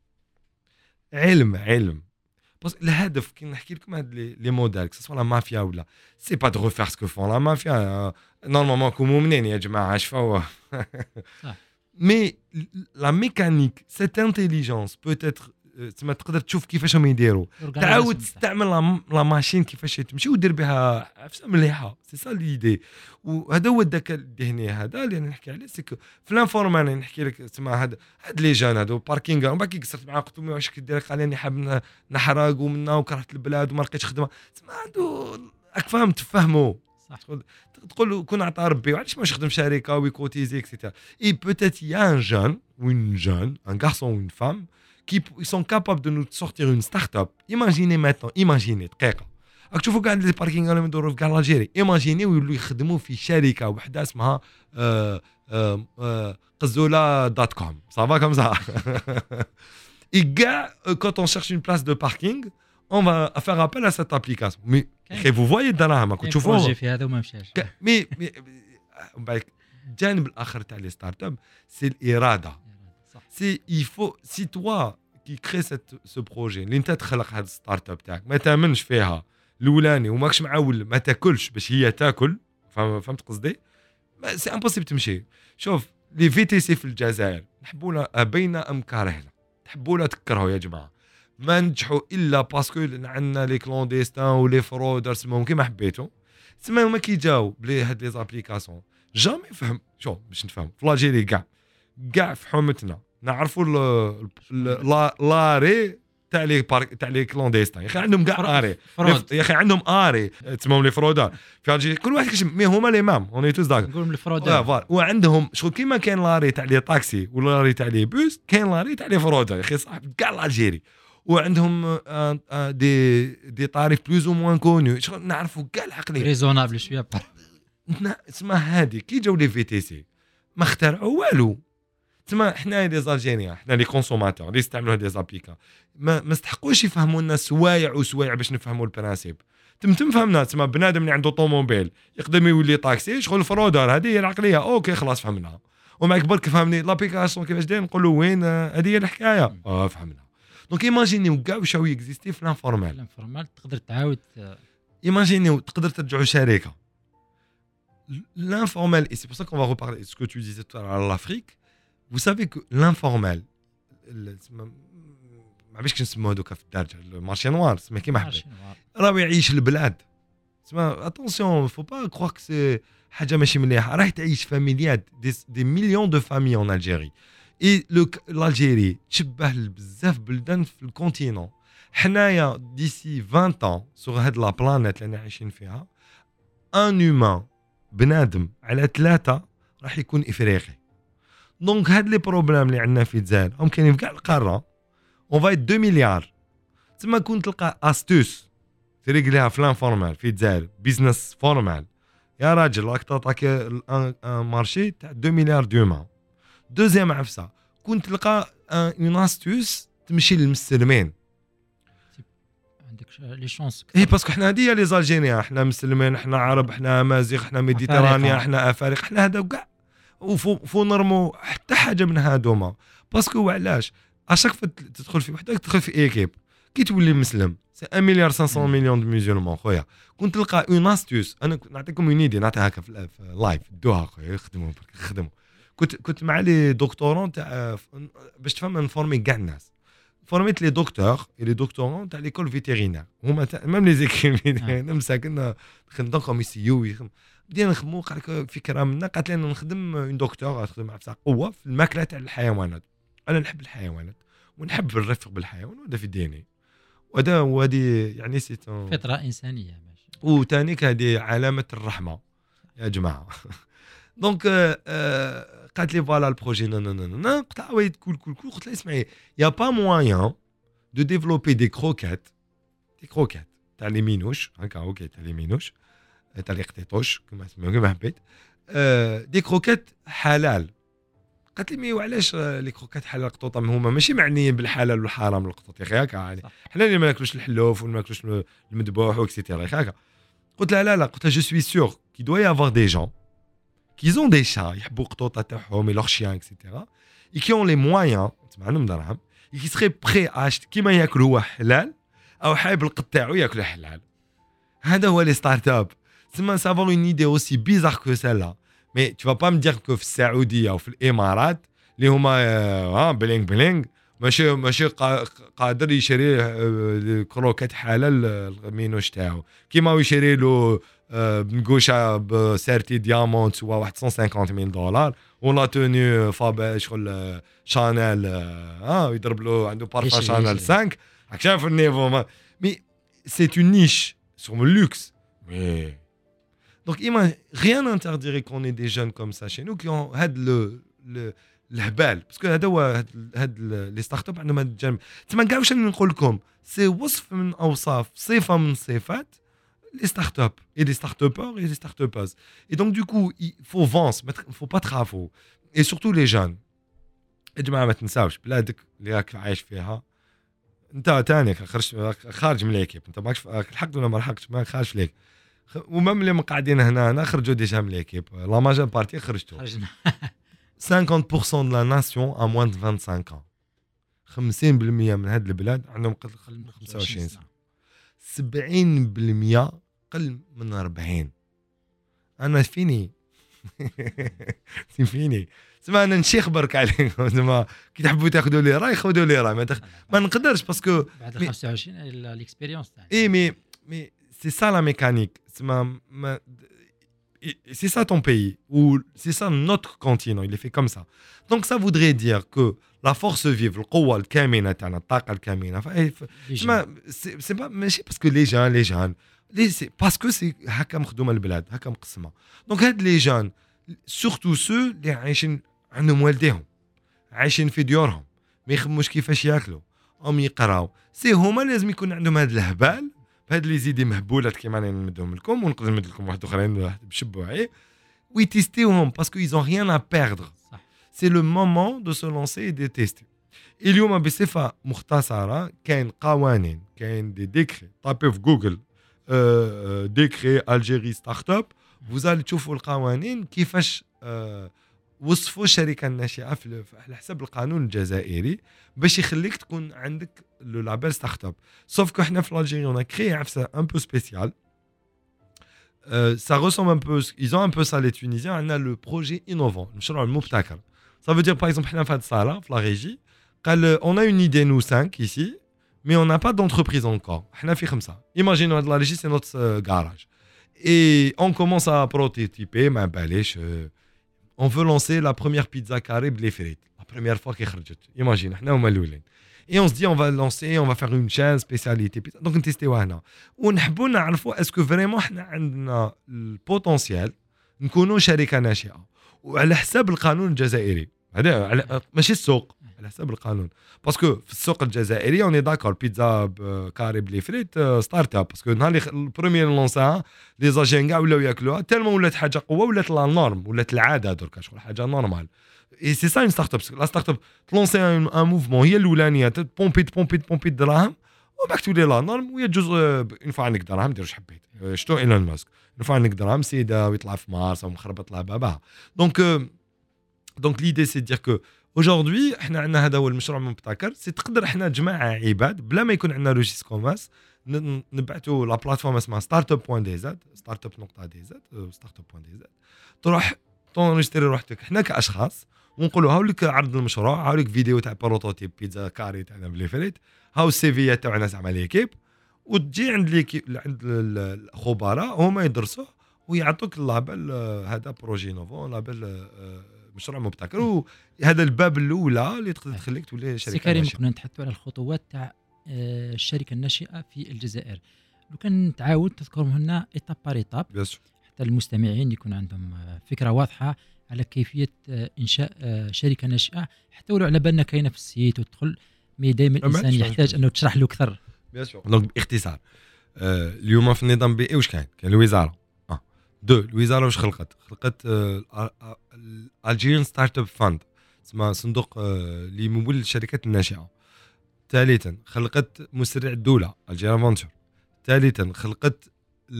B: علم بس الهدف كي نحكي لكم هاد لي موديل سوا لا مافيا ولا سي با دو ريفير سكو فون لا مافيا نورمالمون كومو منين يا جماعه شفاو مي لا ميكانيك سيت انتيليجونس بوتيتر تما تقدر تشوف كيفاش هم يديروا تعاود تستعمل لا ماشين كيفاش تمشي ودير بها عفسه مليحه سي سا ليدي وهذا هو الذكاء الذهني هذا اللي نحكي عليه سيكو في لانفورمال نحكي لك تما هاد لي جان هادو باركينغ ومن بعد كي قصرت معاه قلت له واش كدير قال لي حاب نحرق ومنا وكرهت البلاد وما لقيتش خدمه تما هادو راك فاهم تفهموا تقول كون عطى ربي وعلاش ما نخدم شركه ويكوتيزي اكسيتيرا اي بوتيت يا ان جون ou une jeune un garçon ou une femme qui ils sont capables de nous sortir une start-up. Imaginez maintenant, imaginez دقيقة. راك تشوفوا كاع لي باركينغ اللي يدوروا في كاع الجيري، ايماجيني ويولوا يخدموا في شركة وحدة اسمها قزولة دوت كوم، صافا كوم سا. Et gars, quand on cherche une place de parking, on va faire appel à cette application. Mais vous voyez دراهم راكم تشوفوها.
A: بروجي في هذا وما مشاش.
B: مي الجانب الآخر تاع لي ستارت اب سي الإرادة. سي il faut si toi qui crée ce projet اللي انت تخلق هذا الستارت اب تاعك ما تامنش فيها الاولاني وماكش معول ما تاكلش باش هي تاكل فهمت قصدي سي امبوسيبل تمشي شوف لي في تي سي في الجزائر نحبونا بينا ام كارهنا تحبونا تكرهوا يا جماعه ما نجحوا الا باسكو عندنا لي كلونديستان ولي فرودر سموهم كيما حبيتوا تسمى هما كي جاو بلي هاد لي زابليكاسيون جامي فهم شوف باش نفهم في لاجيري كاع في حومتنا نعرفوا لاري تاع لي كلونديستان يا اخي عندهم كاع اري يا اخي عندهم اري تسموهم لي فرودار في الجيري كل واحد كيش مي هما لي مام اوني توز داك
A: نقولهم لي فرودار
B: وعندهم شغل كيما كاين لاري تاع لي طاكسي ولا لاري تاع لي بوس كاين لاري تاع لي فرودار يا اخي صاحب كاع الجيري وعندهم دي طاريف بلوز او موان كونو شغل نعرفوا كاع العقليه
A: ريزونابل شويه
B: اسمها هذه كي جاو لي في تي سي ما اخترعوا والو تما حنا لي زالجيريان حنا لي كونسوماتور اللي يستعملوا هاد لي زابليكا ما استحقوش يفهموا لنا سوايع باش نفهموا البرانسيب تم فهمنا تما بنادم اللي عنده طوموبيل يقدر يولي طاكسي شغل فرودر هذه هي العقليه اوكي خلاص فهمناها ومع كبر كيفهمني لابليكاسيون كيفاش داير نقولوا وين هذه هي الحكايه فهمنا دونك ايماجينيو كاع واش هو اكزيستي في لانفورمال
A: تقدر تعاود
B: ايماجينيو تقدر ترجعوا شركه l'informel et c'est pour ça qu'on va reparler ce que tu disais tout à l'heure à l'Afrique. Vous savez que l'informel ما عرفتش نسموه هذوك في الدارجه المارشي نوار سما كيما حبيت راه يعيش البلاد سما اتونسيون فو با كروك كو سي حاجه ماشي مليحه راه تعيش فاميليات دي مليون دو فامي اون الجيري اي الجيري تشبه بزاف بلدان في الكونتينون حنايا ديسي 20 ans سور هاد لا بلانيت اللي عايشين فيها ان هيومان بنادم على 3 راح يكون افريقي دونك هاد لي بروبليم اللي عندنا في الجزائر هم كاينين في كاع القاره اون فايت 2 مليار تما كنت تلقى استوس تريقليها في لانفورمال في الجزائر بيزنس فورمال يا راجل راك تعطاك ان مارشي تاع 2 مليار دومان دوزيام عفسه كنت تلقى اون استوس تمشي للمسلمين
A: عندك لي شانس
B: اي باسكو حنا هادي لي زالجيريان حنا مسلمين حنا عرب حنا امازيغ حنا ميديترانيا حنا افارقه حنا هذا كاع وفو نرمو حتى حاجه من هادوما باسكو علاش اشاك تدخل في وحده تدخل في ايكيب كي تولي مسلم سي 1 مليار 500 مليون دو مسلمون خويا كنت تلقى اون استوس انا نعطيكم اون ايدي نعطيها هكا في لايف دوها خويا خدموا كنت مع لي دكتورون تاع باش تفهم نفورمي كاع الناس فورميت لي دكتور لي دكتورون تاع ليكول فيتيرينير هما ميم لي زيكيب مساكن خدمنا كوم يسيو بدينا نخدموا قال لك فكره منا قالت لنا نخدم اون دكتور تخدم مع قوه في الماكله تاع الحيوانات انا نحب الحيوانات ونحب الرفق بالحيوان وهذا في ديني وهذه يعني سي
A: فطره انسانيه ماشي
B: وثاني هذه علامه الرحمه يا جماعه دونك قالت لي فوالا البروجي نو قلت لها وي كول قلت لها اسمعي يا با موان دو ديفلوبي دي كروكيت تاع لي مينوش هكا اوكي تاع لي مينوش تاع لي قطيطوش كما حبيت دي كروكيت حلال قالت لي مي وعلاش لي كروكات حلال القطوطه هما ماشي معنيين بالحلال والحرام للقطط يا اخي هكا يعني حنا اللي ما ناكلوش الحلوف وما ناكلوش المذبوح وكسيتيرا هكا قلت لها لا قلت لها جو سوي سور كي دوا يافوار دي جون كي زون دي شا يحبوا القطوطه تاعهم لوغ شيان اكسيتيرا اي كي اون لي مويان معلوم دراهم كي سري بري اشت كيما ياكل هو حلال او حايب القط تاعو ياكل حلال هذا هو لي ستارت اب تسمى سافون اون ايدي اوسي بيزار كو سيلا مي تو با مي دير كو في السعوديه او في الامارات اللي هما بلينغ بلينغ ماشي قادر يشري كروكات حلال المينوش تاعو كيما يشري له بنقوشه بسيرتي ديامونت سوا واحد $150,000 ولا توني فابا شغل شانيل يضرب له عنده بارفا شانيل 5 راك شايف النيفو مي سي اون نيش سور le luxe mais donc rien n'interdirait qu'on ait des jeunes comme ça chez nous qui ont had le الهبال باسكو هذا هو هاد لي ستارت اب عندهم هاد الجانب تما كاع واش نقول لكم سي وصف من اوصاف صفه من صفات لي ستارت اب اي لي ستارت ابور اي لي ستارت اباز اي دونك دو كو فو فونس فو با تخافوا اي سورتو لي جون يا جماعه ما تنساوش بلادك اللي راك عايش فيها انت تاني خارج من ليكيب انت ماكش لحقت ولا ما لحقتش ما خارج ليك ومام اللي قاعدين هنا خرجوا ديجا من ليكيب لا ماجور بارتي خرجتوا 50% de la nation a moins de 25 ans. 50% من هاد البلاد عندهم قل من 25 سنة. 70% قل من 40. أنا فيني. فيني. سما أنا نشيخ برك عليكم. سما كي تحبوا تاخذوا لي راي خذوا لي راي ما نقدرش باسكو
A: بعد 25 الاكسبيريونس تاعي.
B: إيه مي سي سا لا ميكانيك. سما c'est ça ton pays, ou c'est ça notre continent, il est fait comme ça. Donc ça voudrait dire que la force vive, القوة الكامنة تاعنا الطاقة الكامنة c'est pas ماشي parce que les jeunes c'est parce que c'est هكا مخدومة البلاد هكا مقسمة. Donc هاد les jeunes surtout ceux اللي عايشين عندهم والديهم عايشين في ديورهم ما يخموش كيفاش ياكلوا أو يقراو سي هما لازم يكون عندهم هاد الهبال بهاد لي زيدي مهبولات كيما انا نمدهم لكم ونقدر نمد لكم واحد اخرين بشبوعي ويتيستيوهم باسكو ils ont rien à perdre c'est le moment de se lancer et de tester اليوم بصفه مختصره كاين قوانين كاين دي ديكري طابي في جوجل ديكري الجيري ستارت اب vous allez تشوفوا القوانين كيفاش وصفوا الشركه الناشئه على حسب القانون الجزائري باش يخليك تكون عندك لو لابيل ستارت اب سوف كو حنا في الجيري اون كريي عفسه ان بو سبيسيال ça ressemble un peu ils ont un peu ça les Tunisiens عندنا لو بروجي انوفون المشروع المبتكر ça veut dire par exemple حنا في هذه الصاله في لا ريجي قال on a une idée nous 5 ici mais on n'a pas d'entreprise encore حنا في 5 imaginons هذه لا ريجي c'est notre garage et on commence à prototyper ما باليش on veut lancer la première pizza carré blé frites la première fois qu'elle خرجت imagine احنا هما الاولين et on se dit on va lancer on va faire une chaîne spécialité pizza donc نتيستيوها هنا ونحبوا نعرفوا اسكو فريمون احنا عندنا البوتنسيال نكونوا شركه ناشئه وعلى حساب القانون الجزائري هذا ماشي السوق على حساب القانون باسكو في السوق الجزائري اوني داكور بيتزا كاري بلي فريت ستارت اب باسكو نهار البروميير لونساها لي زاجين كاع ولاو ياكلوها تالمون ولات حاجه قوه ولات لا نورم ولات العاده دركا شغل حاجه نورمال اي سي سا اون ستارت اب لا ستارت اب تلونسي ان موفمون هي الاولانيه بومبي دراهم وباك تولي لا نورم وهي جزء اون فوا عندك دراهم دير واش حبيت شتو ايلون ماسك اون فوا عندك دراهم سيده ويطلع في مارس او مخربط لها باباها دونك ليدي سي دير كو aujourd'hui احنا عندنا هذا هو المشروع المبتكر سي تقدر احنا جماعه عباد بلا ما يكون عندنا لوجيس كوماس نبعثوا لا بلاتفورم اسمها startup.dz startup.dz startup.dz تروح تونجستري روحتك احنا كاشخاص ونقولوا هاوليك عرض المشروع هاوليك فيديو تاع بروتوتيب بيتزا كاري تاعنا بلي فريت هاو السي في تاعنا زعما ليكيب وتجي عند ليكيب عند الخبراء هما يدرسوه ويعطوك اللابل هذا بروجي نوفو لابل مشروع مبتكر وهذا الباب الاولى اللي تقدر تخليك تولي شركه. سي
A: كريم كنا نتحدثوا على الخطوات تاع الشركه الناشئه في الجزائر لو كان تعاود تذكرهم لنا ايتاب بار ايتاب حتى المستمعين يكون عندهم فكره واضحه على كيفيه انشاء شركه ناشئه حتى ولو على بالنا كاينه في السيت وتدخل مي دائما الانسان يحتاج انه تشرح له اكثر.
B: بيان سور دونك باختصار اليوم في النظام البيئي واش كاين الوزاره الوزاره واش خلقت الالجيريان ستارت اب فاند اسمها صندوق اللي يمول الشركات الناشئه. ثالثا خلقت مسرع الدوله الجيرا فونتور. ثالثا خلقت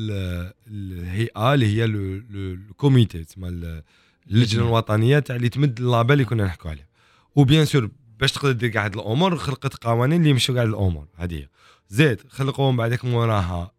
B: الهيئه اللي هي الكوميتي اسمها اللجنه الوطنيه تاع اللي تمد اللابال اللي كنا نحكوا عليه. وبيان سور باش تقدر دير كاع هاد الامور خلقت قوانين اللي يمشوا كاع الامور هذه. زيد خلقوا من بعدك موراها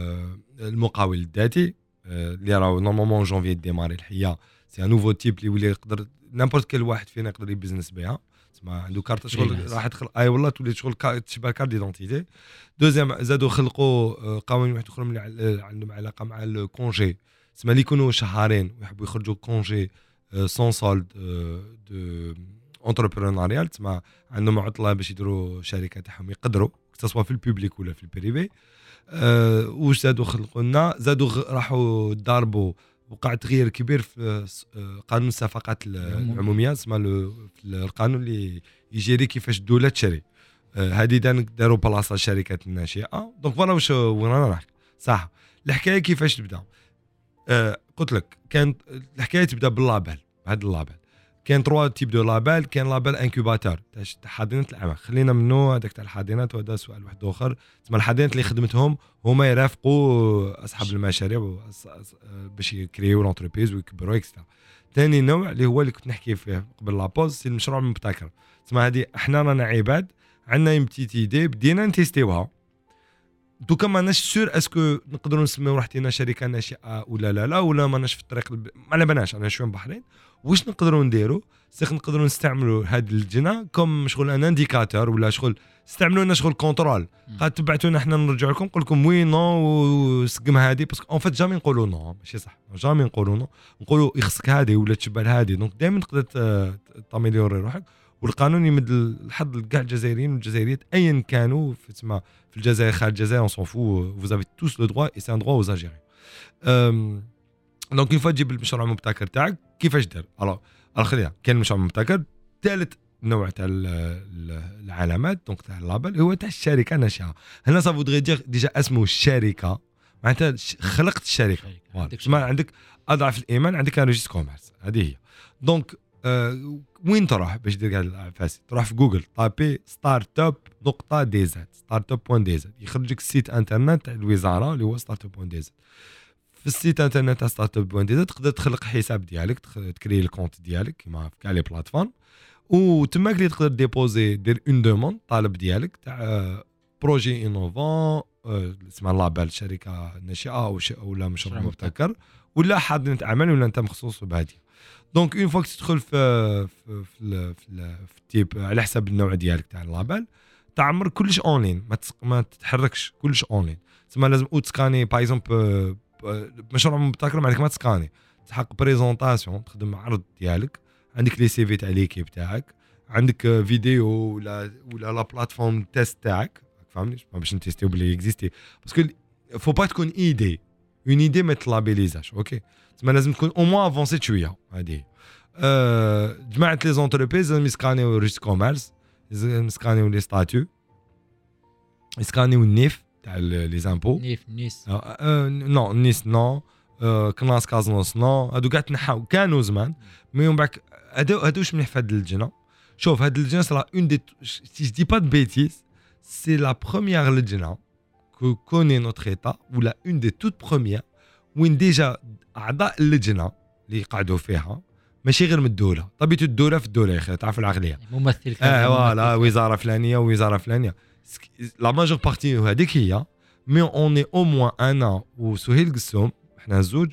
B: المقاول الذاتي اللي راهو نورمالمون جونفي ديماري الحيه. سي ان نوفو تيب اللي يولي يقدر نيمبورت كل واحد فينا يقدر يبزنس بها. تسمى عنده كارت شغل راح تخلق اي والله تولي شغل تشبه كارت ديدونتيتي. دوزيام زادوا خلقوا قوانين واحد اخرى اللي عندهم علاقه مع الكونجي. تسمى اللي يكونوا شهرين ويحبوا يخرجوا كونجي سون سولد دو انتربرونيال. تسمى عندهم عطله باش يديروا شركه تاعهم يقدروا سواء في البوبليك ولا في البريفي. واش زادوا خلقوا لنا زادوا راحوا ضربوا وقع تغيير كبير في قانون الصفقات العموميه. اسمه القانون اللي يجري كيفاش الدوله تشري. هذه داروا بلاصه الشركات الناشئه. دونك فوالا واش وين رانا نحكي صح. الحكايه كيفاش تبدا؟ قلت لك كانت الحكايه تبدا باللابال. هذا اللابال كاين 3 تيب دو لابال. كاين لابال انكوباتور تاع حاضنات الاعمال. خلينا منه هذاك تاع الحاضنات وهذا سؤال واحد اخر. تسمى الحاضنات اللي خدمتهم هما يرافقوا اصحاب المشاريع باش يكريو لونتربريز ويكبروا اكسترا. ثاني نوع اللي هو اللي كنت نحكي فيه قبل لابوز سي المشروع المبتكر. تسمى هذه احنا رانا عباد عندنا يمتيت ايدي بدينا نتيستيوها. دوكا ماناش سور اسكو نقدروا نسميو روحتنا شركه ناشئه ولا لا ولا ماناش في الطريق ما على بالناش. انا شويه بحرين واش نقدروا نديروا سيخ نقدروا نستعملوا هذه اللجنه كوم شغل ان انديكاتور ولا شغل استعملوا لنا شغل كونترول. قد تبعتونا احنا نرجع لكم نقول لكم وي نو وسقم هذه باسكو اون فيت جامي نقولوا نو ماشي صح. جامي نقولوا نو نقولوا يخصك هذه ولا تشبه هذه. دونك دائما تقدر تاميليوري روحك. والقانون يمد الحظ لكاع الجزائريين والجزائريات ايا كانوا في الجزائر خارج الجزائر اون سون فو vous avez tous le droit et c'est un droit aux Algériens. دونك كيف تجيب المشروع المبتكر تاعك كيفاش دير؟ خلينا كاين المشروع المبتكر. ثالث نوع تاع العلامات دونك تاع اللابل هو تاع الشركه الناشئه. هنا صافو دغي ديجا اسمه الشركه معناتها خلقت الشركه. ما عندك اضعف الايمان عندك ريجيستر كوميرس. هذه هي. دونك وين تروح باش دير كاع الفاسي؟ تروح في جوجل طابي ستارت اب نقطه دي زد ستارت اب بوان دي زد يخرج لك السيت انترنت تاع الوزاره اللي هو ستارت اب بوان دي زد. في السيت انترنت تاع ستارت اب بوان دي زد تقدر تخلق حساب ديالك تكري الكونت ديالك كيما في كاع لي بلاتفورم. وتماك اللي تقدر ديبوزي دير اون دوموند طالب ديالك تاع بروجي انوفون اسمها لابال شركه ناشئه ولا مشروع مبتكر ولا حاضنه عمل ولا انت مخصوص بهذه. دونك اون فوا تدخل في التيب على حسب النوع ديالك تاع اللابال تعمر كلش اونلاين ما تتحركش كلش اونلاين. تسمى لازم تسكاني باغ اكزومبل مشروع مبتكر معناتك ما تسكاني تحق بريزونطاسيون تخدم عرض ديالك عندك لي سي في تاع ليكيب تاعك عندك فيديو ولا لا بلاتفورم تيست تاعك فهمني باش نتيستيو بلي اكزيستي باسكو فو با تكون ايدي اون ايدي ما تلابيليزاش. اوكي تسمى لازم تكون او موان افونسي شويه. هذه جماعه لي زونتربريز لازم يسكانيو ريجيستر كوميرس يسكانيو لي ستاتيو يسكانيو النيف تاع لي زامبو
A: نيس
B: نو نيس نو كلاس كازنوس نو هادو كاع تنحاو كانوا زمان مي من بعد هادو واش مليح في هاد اللجنه. شوف هاد اللجنه صرا اون دي سي جو دي با دو بيتيز سي لا بروميير لجنه كو كوني نوتر ايتا ولا اون دي توت بروميير وين ديجا اعضاء اللجنه اللي قعدوا فيها ماشي غير من الدوله طبيعه الدوله في الدوله يا اخي تعرف العقليه
A: ممثل
B: فوالا وزاره فلانيه ووزاره فلانيه لا ماجور بارتي هذيك هي مي اوني او موان انا وسهيل قسوم احنا زوج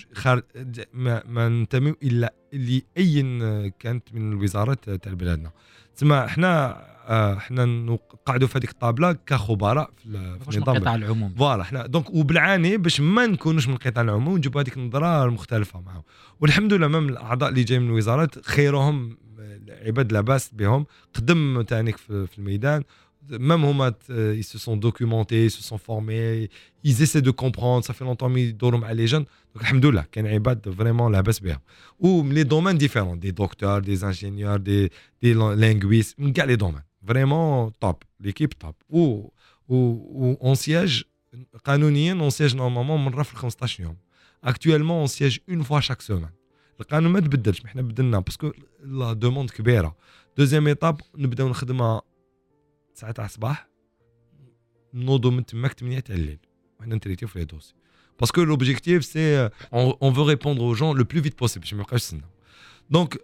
B: ما ننتميو الا لاي كانت من الوزارات تاع بلادنا. تسمى احنا نقعدوا في هذيك الطابله كخبراء في النظام
A: القطاع العمومي.
B: فوالا احنا دونك وبالعاني باش ما نكونوش من القطاع العمومي ونجيبوا هذيك النظره المختلفه معاهم. والحمد لله من الاعضاء اللي جاي من الوزارات خيرهم عباد لاباس بهم قدم تانيك في الميدان même هما ils se sont documentés ils se sont formés ils essaient de comprendre ça fait longtemps يدوروا مع لي جون دونك الحمد لله كان عباد فريمون لاباس بهم و لي دومين ديفيرون دي دكتور دي انجينيور دي لينغويست من كاع لي دومين فريمون توب ليكيب توب و اون سياج قانونيا اون سياج نورمالمون مره في 15 يوم اكطوالمون اون سياج اون فوا شاك سيمين. القانون ما تبدلش حنا بدلنا باسكو لا دوموند كبيره دوزيام ايطاب نبداو نخدمها 9 تاع الصباح نوضو من تماك 8 تاع الليل وحنا نتريتيو في لي دوسي باسكو لوبجيكتيف سي اون فو ريبوندر او جون لو بلو فيت بوسيبل باش ما يبقاش يستناو دونك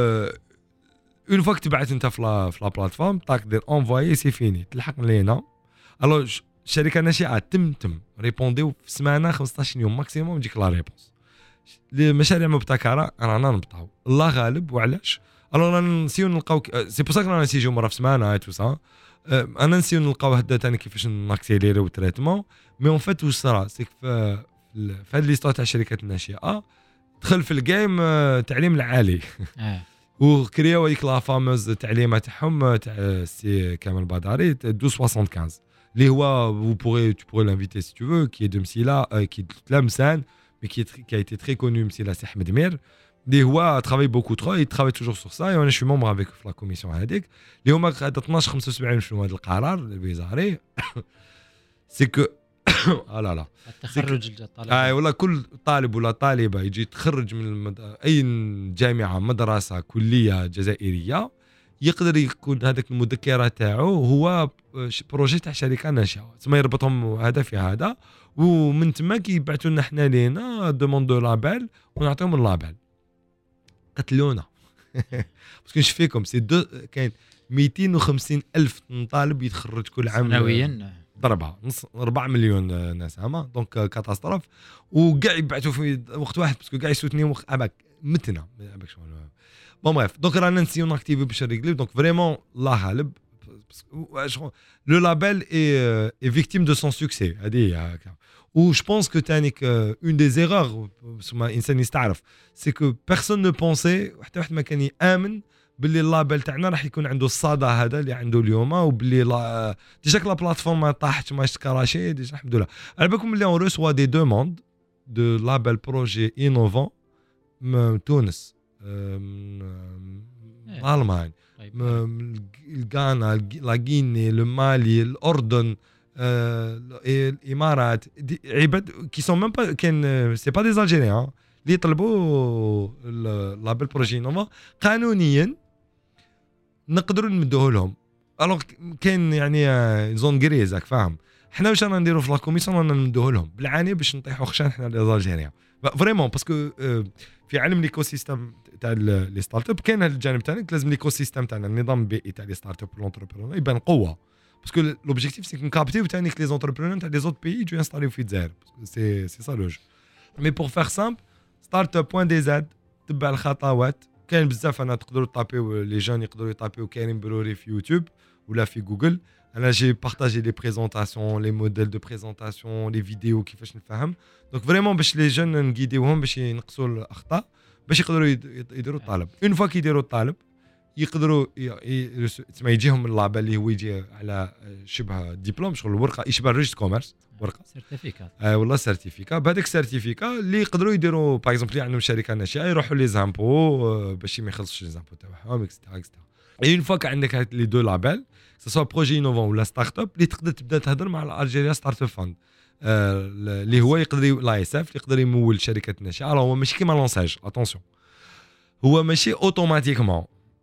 B: اون فوا تبعت انت في لا بلاتفورم طاك دير انفوايي سي فيني تلحق لينا الو الشركه الناشئه تم ريبونديو في سمانه 15 يوم ماكسيموم تجيك لا ريبونس المشاريع مبتكره رانا نبطاو الله غالب وعلاش الو رانا نسيو نلقاو سي بور سا رانا نسيجو مره في سمانه اي تو سا انا نسيو نلقاو هدا ثاني كيفاش ناكسيليريو التريتمون مي اون فات واش صرا سيك في هاد ليستوار تاع الشركات الناشئه دخل في الجيم التعليم العالي وكرياو هذيك لا فاموز التعليمه تاعهم تاع سي كامل بداري 1275 اللي هو vous pourrez l'inviter si tu veux qui est de Msila qui est Tlemcen mais qui a été très connu Msila c'est Ahmed Mir اللي هو travaille beaucoup trop il travaille toujours sur ça et انا شي ممبر avec la commission هذيك اللي هما 12 75 شنو هذا القرار الوزاري سي كو لا لا
A: التخرج الطالب
B: والله كل طالب ولا طالبه يجي يتخرج من اي جامعه مدرسه كليه جزائريه يقدر يكون هذاك المذكره تاعو هو بروجي تاع شركه ناشئه تسمى يربطهم هذا في هذا ومن تما كيبعثوا لنا حنا لينا دوموند دو لابيل ونعطيهم اللابيل قتلونا باسكو نش فيكم سي كاين 250 الف طالب يتخرج كل عام
A: سنويا
B: ضربها نص 4 مليون ناس هما دونك كاتاستروف وكاع يبعثوا في وقت واحد باسكو كاع يسوتني وقت اباك متنا اباك شغل بون بريف دونك رانا نسيو ناكتيفي باش نريغلي دونك فريمون الله غالب لو لابيل اي فيكتيم دو سون سوكسي هذه هكا و جو بونس كو تانيك اون دي زيرور سما انسان يستعرف سي كو بيرسون نو بونسي حتى واحد ما كان يامن باللي اللابيل تاعنا راح يكون عنده الصدى هذا اللي عنده اليوم وباللي ديجا لا بلاتفورم طاحت ما اشتكراشي ديجا الحمد لله على بالكم اللي اون ريسوا دي دوموند دو لابيل بروجي انوفون من تونس الالمان الغانا لا غيني المالي الاردن الامارات عباد كي سون ميم با كان سي با دي الجيريان اللي يطلبوا لابيل بروجي انوفون قانونيا نقدروا نمدوه لهم الوغ كاين يعني زون غريز راك فاهم حنا واش رانا نديروا في لا كوميسيون رانا نمدوه لهم بالعاني باش نطيحوا خشان حنا لي الجيريان فريمون باسكو في عالم ليكو سيستم تاع لي ستارت اب كاين هذا الجانب تاعنا لازم ليكو سيستم تاعنا النظام البيئي تاع لي ستارت اب والانتربرونور يبان قوه باسكو لوبجيكتيف سي نكابتيو تاع لي زونتربرونور تاع لي زوت بيي يجوا ينستاليو في الجزائر سي سا لوج مي بور فير سامبل ستارت اب بوين دي زاد تبع الخطوات كاين بزاف انا تقدروا طابيو لي جون يقدروا يطابيو كريم بروري في يوتيوب ولا في جوجل انا جي بارطاجي لي بريزونطاسيون لي موديل دو بريزونطاسيون لي فيديو كيفاش نفهم دونك فريمون باش لي جون نغيديوهم باش ينقصوا الاخطاء باش يقدروا يديروا الطالب اون فوا كيديروا الطالب يقدروا تسمى يجيهم اللابيل اللي هو يجي على شبه ديبلوم شغل ورقه يشبه ريجست كوميرس ورقه
A: سيرتيفيكات
B: والله سيرتيفيكا بهذاك السيرتيفيكا اللي يقدروا يديروا باغ اكزومبل عندهم شركه ناشئه يروحوا لي زامبو باش ما يخلصوش لي زامبو تاعهم اكسترا اون فوا عندك هاد لي دو لابيل سوا بروجي انوفون ولا ستارت اب اللي تقدر تبدا تهضر مع الالجيريا ستارت اب فاند اللي هو يقدر لا يساف يقدر يمول شركه ناشئه هو ماشي كيما لونساج اتونسيون هو ماشي اوتوماتيكمون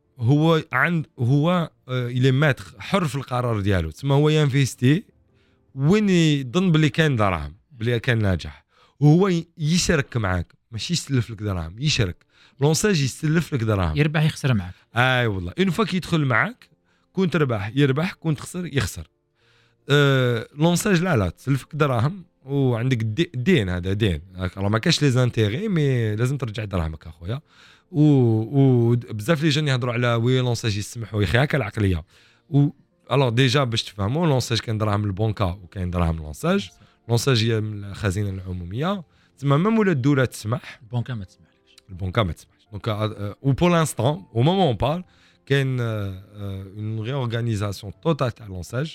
B: هو الى ماتر حر في القرار ديالو تسمى هو ينفيستي وين يظن بلي كاين دراهم بلي كان ناجح وهو يشارك معاك ماشي يسلف لك دراهم يشارك لونساج يسلف لك دراهم
A: يربح يخسر معاك
B: والله اون فوا كيدخل معاك كون تربح يربح كون تخسر يخسر لونساج لا تسلفك دراهم وعندك دين هذا دين راه ما كاش لي زانتيغي مي لازم ترجع دراهمك اخويا وبزاف لي جون يهضروا على وي لونساج يسمحوا يا اخي العقليه الوغ ديجا باش تفهموا لونساج كاين دراهم البنكه وكاين دراهم لونساج هي من الخزينه العموميه تما ميم ولا الدوله تسمح
A: البنكه ما تسمحش
B: دونك او بور لانستون او مومون اون بار كاين اون ريورغانيزاسيون توتال تاع لونساج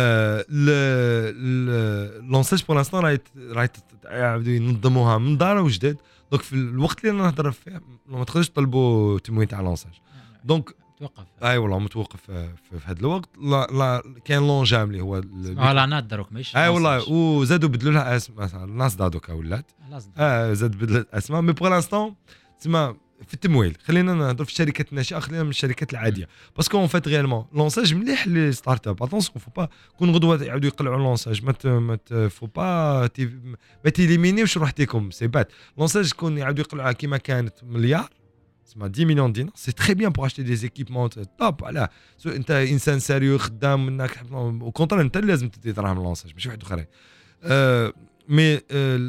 B: لونساج بور لانستون راهي ينظموها من دار وجداد دونك في الوقت اللي نهضر فيه ما تقدرش تطلبوا تموين تاع لونساج دونك
A: توقف
B: والله متوقف في هذا الوقت لا كاين لونجام اللي هو
A: لا نادروك ماشي
B: والله وزادوا بدلوا لها اسم مثلا الناس دادوكا ولات زاد بدلت اسماء مي بور لانستون تسمى في التمويل، خلينا نهضر في الشركات الناشئه، خلينا من الشركات العاديه، باسكو اون فات ريالمون لونساج مليح لي ستارت اب. اتونسيون فو با كون غدوه يعاودوا يقلعوا لونساج، ما فو با ما تيليمينيوش روحتكم، سي بات لونساج كون يعاودوا يقلعوها كيما كانت مليار اسمها 10 مليون دينار، سي تري بيان بور اشتي دي زيكيبمون توب. علاه انت انسان سيريو خدام منك او كونتر، انت لازم تدي دراهم لونساج ماشي واحد اخرين. مي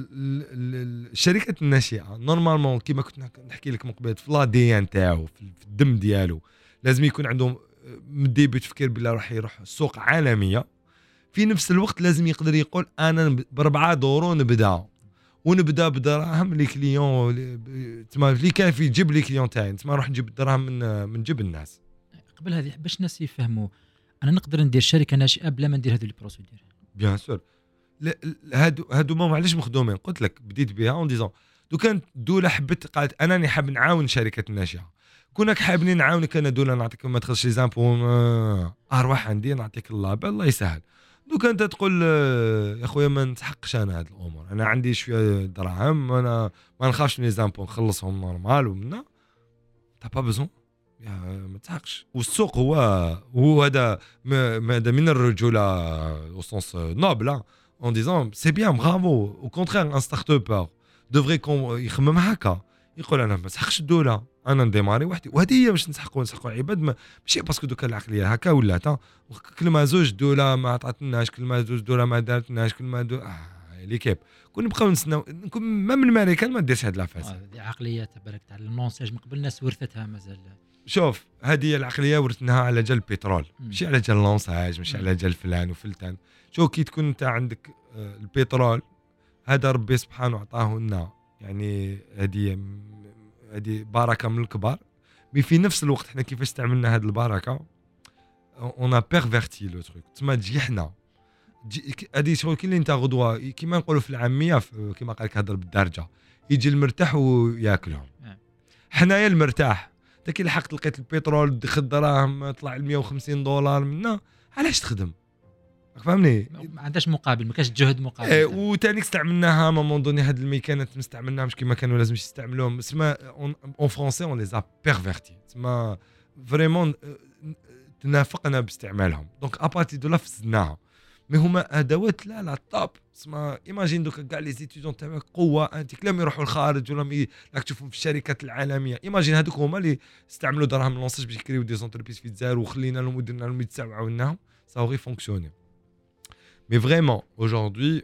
B: الشركات الناشئه نورمالمون كيما كنت نحكي لك من قبل في لا دي ان تاعو في الدم ديالو لازم يكون عندهم مدي بتفكير بلا راح يروح سوق عالميه. في نفس الوقت لازم يقدر يقول انا ب4 دورو ونبدا بدراهم لي كليون تما اللي كان في جيب لي كليون تاعي، تما نروح نجيب الدراهم من جيب الناس.
A: قبل هذه باش الناس يفهموا انا نقدر ندير شركه ناشئه بلا ما ندير هذو لي بروسيدور.
B: بيان سور هادو ما معليش مخدومين، قلت لك بديت بها اون ديزون دو كان دوله حبت قالت انني حاب نعاون شركه الناشئه، كونك حابني نعاونك انا دوله نعطيك ما تخرجش لي زامبو اروح عندي نعطيك اللابل الله يسهل. دو كانت تقول يا خويا ما نتحقش انا هاد الامور، انا عندي شويه دراهم انا ما نخافش من لي زامبو نخلصهم نورمال ومنا تا با بزون ما تحقش. والسوق هو هذا من الرجوله او سونس نوبل en disant c'est bien bravo au contraire un start-upper devrait يخمم هكا يقول انا ما نسحقش الدوله انا نديماري وحدي. وهذه هي باش نسحقوا عباد ماشي باسكو دوكا العقليه هكا ولا تا كل ما زوج دوله ما عطاتناش كل ما زوج دوله ما دارتناش كل ما ليكيب كون نبقاو نسناو نكون ما من الامريكان ما ديرش هاد لافاس.
A: هذه عقليه تبارك تاع اللونساج من قبل الناس ورثتها مازال.
B: شوف هذه العقليه ورثناها على جال البترول ماشي على جال اللونساج ماشي على جال فلان وفلتان. شو كي تكون انت عندك البترول هذا ربي سبحانه عطاه لنا يعني هذه بركه من الكبار، مي في نفس الوقت احنا كيفاش استعملنا هذه البركه اون ا بيرفيرتي لو تروك تما جيحنا هذه شغل كي اللي انت غدوه كيما نقولوا في العاميه كيما قال لك هضر بالدرجه يجي المرتاح وياكلهم. حنايا المرتاح انت كي لحقت لقيت البترول دخل دراهم طلع $150 منا علاش تخدم فهمني
A: ما عندهاش مقابل ما كاش جهد مقابل.
B: وثاني استعملناها مامون دوني هاد الميكانات ما استعملناهمش كيما كانوا لازم يستعملوهم اسمها اون فرونسي اون ليزا بيرفيرتي اسمها فريمون تنافقنا باستعمالهم دونك ابارتي دو لا فزناها مي هما ادوات لا طاب اسمها ايماجين دوك كاع لي زيتيدون تاعك قوه انت كلام يروحوا الخارج ولا راك تشوفهم في الشركات العالميه. ايماجين هذوك هما اللي استعملوا دراهم لونساج باش يكريو دي زونتربريز في الجزائر وخلينا لهم ودرنا لهم يتساووا عاوناهم ساوغي فونكسيوني. مي فريمون اجوردي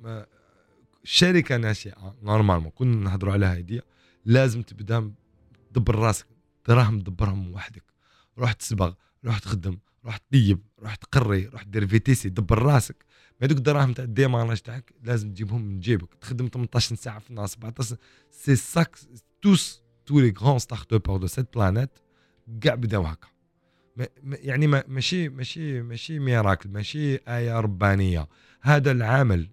B: الشركه ناشئه نورمالمون كنا نهضروا على هذه لازم تبدا تدبر راسك دراهم تدبرهم وحدك، روح تسبغ روح تخدم روح تطيب روح تقري روح دير في تي سي دبر راسك. ما دوك الدراهم تاع الديماراج تاعك لازم تجيبهم من جيبك تخدم 18 ساعه في النهار 17 سي ساك توس تو لي غران ستارت ابر دو سيت بلانيت كاع بداو هكا يعني ماشي ميراكل ماشي آية ربانية. هذا العمل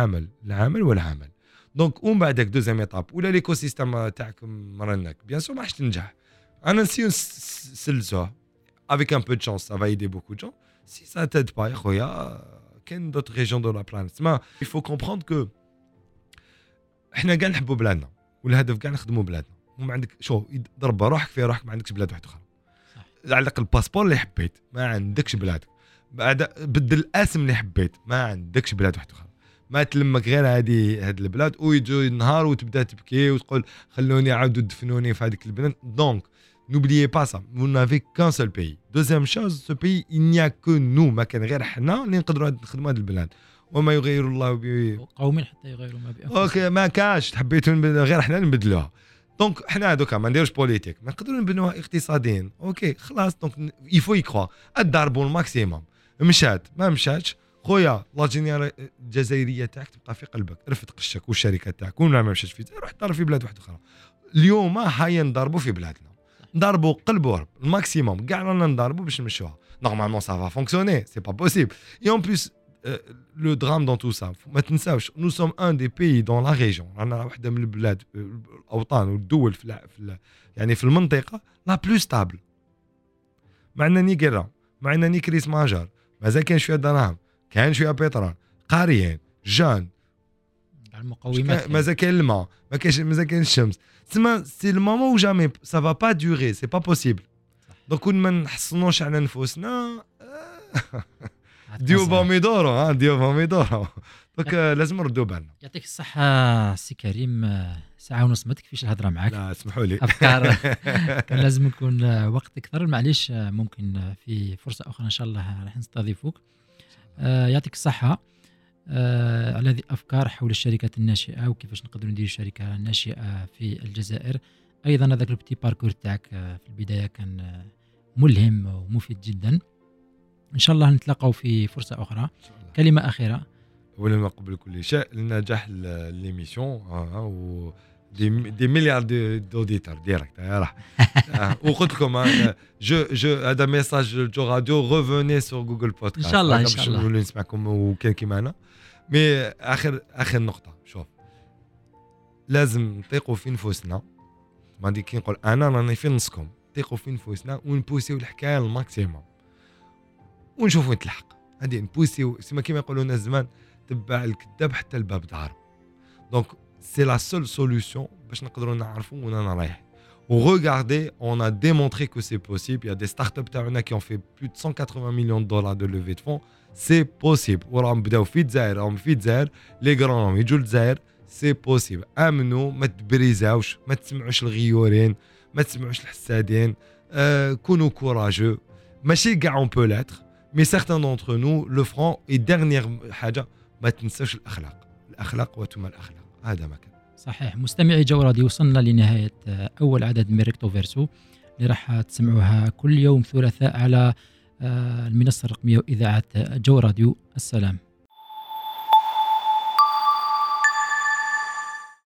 B: دونك ومن بعدك دوزيام ايطاب ولا ليكو سيستيم تاعك مرنك بيان سور ما راحش تنجح. انا نسيو نسلسوه avec un peu de chance ça va aider beaucoup de gens. Si ça t'aide pas يا خويا كاين d'autres régions de la planète. ما il faut comprendre que احنا كاع نحبوا بلادنا والهدف كاع نخدموا بلادنا وما عندك شو ضرب روحك في روحك ما عندكش بلاد واحده اخرى علق الباسبور اللي حبيت ما عندكش بلادك بعد بدل الاسم اللي حبيت ما عندكش بلاد واحده اخرى ما تلمك غير هاد البلاد ويجوا النهار وتبدا تبكي وتقول خلوني عاودوا دفنوني في هذيك البلاد. دونك n'oubliez pas ça vous n'avez qu'un seul pays. deuxième chose ce pays il n'y a que nous ما كان غير حنا اللي نقدروا نخدموا هذه البلاد وما يغير الله
A: قوم حتى يغيروا ما بأنفسهم.
B: اوكي ما كاش حبيتوا غير حنا نبدلوها دونك حنا دوكا ما نديروش بوليتيك ما نقدروا نبنوها اقتصاديا اوكي خلاص دونك يفو يكرو الضربوا الماكسيموم مشات ما مشاتش خويا لاجينيال الجزائريه تاعك تبقى في قلبك رفد قشك والشركه تاعك ولا ما مشاتش في روح ضرب في بلاد واحده اخرى. اليوم هيا نضربوا في بلادنا نضربوا قلب ورب الماكسيموم كاع رانا نضربوا باش نمشوها نورمالمون سا فا فونكسيوني سي با بوسيبل اي اون بليس لو درام دون تو سا ما تنساوش نو سوم ان دي بيي دون لا ريجيون رانا واحده من البلاد الاوطان والدول في يعني في المنطقه لا بلو ستابل. ما عندنا ني غيرا ما عندنا ني كريس ماجور مازال كاين شويه دراهم كاين شويه بترول قاريين جان
A: المقومات
B: مازال كاين الماء، ما كاينش مازال كاين الشمس، تسمى سي المومون و جامي سا فا با دوغي، سي با بوسيبل. دونك كون ما نحصنوش على نفوسنا ديو بوميدورو ديو بوميدورو. دونك لازم نردوا بالنا.
A: يعطيك الصحة سي كريم، ساعة ونص ما تكفيش الهضرة معاك.
B: لا اسمحوا لي.
A: أفكار كان لازم يكون وقت أكثر، معليش ممكن في فرصة أخرى إن شاء الله راح نستضيفوك. يعطيك الصحة على هذه الأفكار حول الشركات الناشئة وكيفاش نقدروا نديروا شركة ناشئة في الجزائر. أيضا هذاك البتي باركور تاعك في البداية كان ملهم ومفيد جدا. إن شاء الله نتلاقوا في فرصة أخرى. كلمة أخيرة.
B: أولا قبل كل شيء لنجاح ليميسيون و دي مليار دوديتور ديريكت راح. وقلت لكم هذا ميساج جو راديو ريفوني سور جوجل بودكاست.
A: إن شاء الله إن شاء الله
B: نسمعكم وكان كيما أنا. مي آخر نقطة، شوف لازم نطيقوا في نفوسنا. ما دي كي نقول أنا راني في نصكم، نطيقوا في نفوسنا ونبوسيو الحكاية الماكسيموم ونشوفوا نتلحق. هذه نبوسيو كيما يقولوا الناس زمان، تبع الكذاب حتى الباب دارو. دونك سي لا سول سوليوشن باش نقدروا نعرفوا وين انا رايح. وغاردي اون ا ديمونطري كو سي بوسيبل. يا دي ستارت اب تاعنا كي اون في بلو دو 180 مليون دولار دو لوفي دو فون. سي بوسيبل وراهم بداو في الجزائر، راهم في الجزائر لي غران يجوا للجزائر. سي بوسيبل. امنوا، ما تبريزاوش، ما تسمعوش الغيورين، ما تسمعوش الحسادين. كونوا كوراجو. ماشي كاع اون بو لاتر مي سيغتان دونتر نو لو فرون. اي ديرنيير حاجه ما تنساوش الاخلاق وتم الاخلاق. هذا ما كان
A: صحيح. مستمعي جو راديو، وصلنا لنهايه اول عدد من ريكتو فيرسو اللي راح تسمعوها كل يوم ثلاثاء على المنصه الرقميه واذاعه جو راديو. السلام.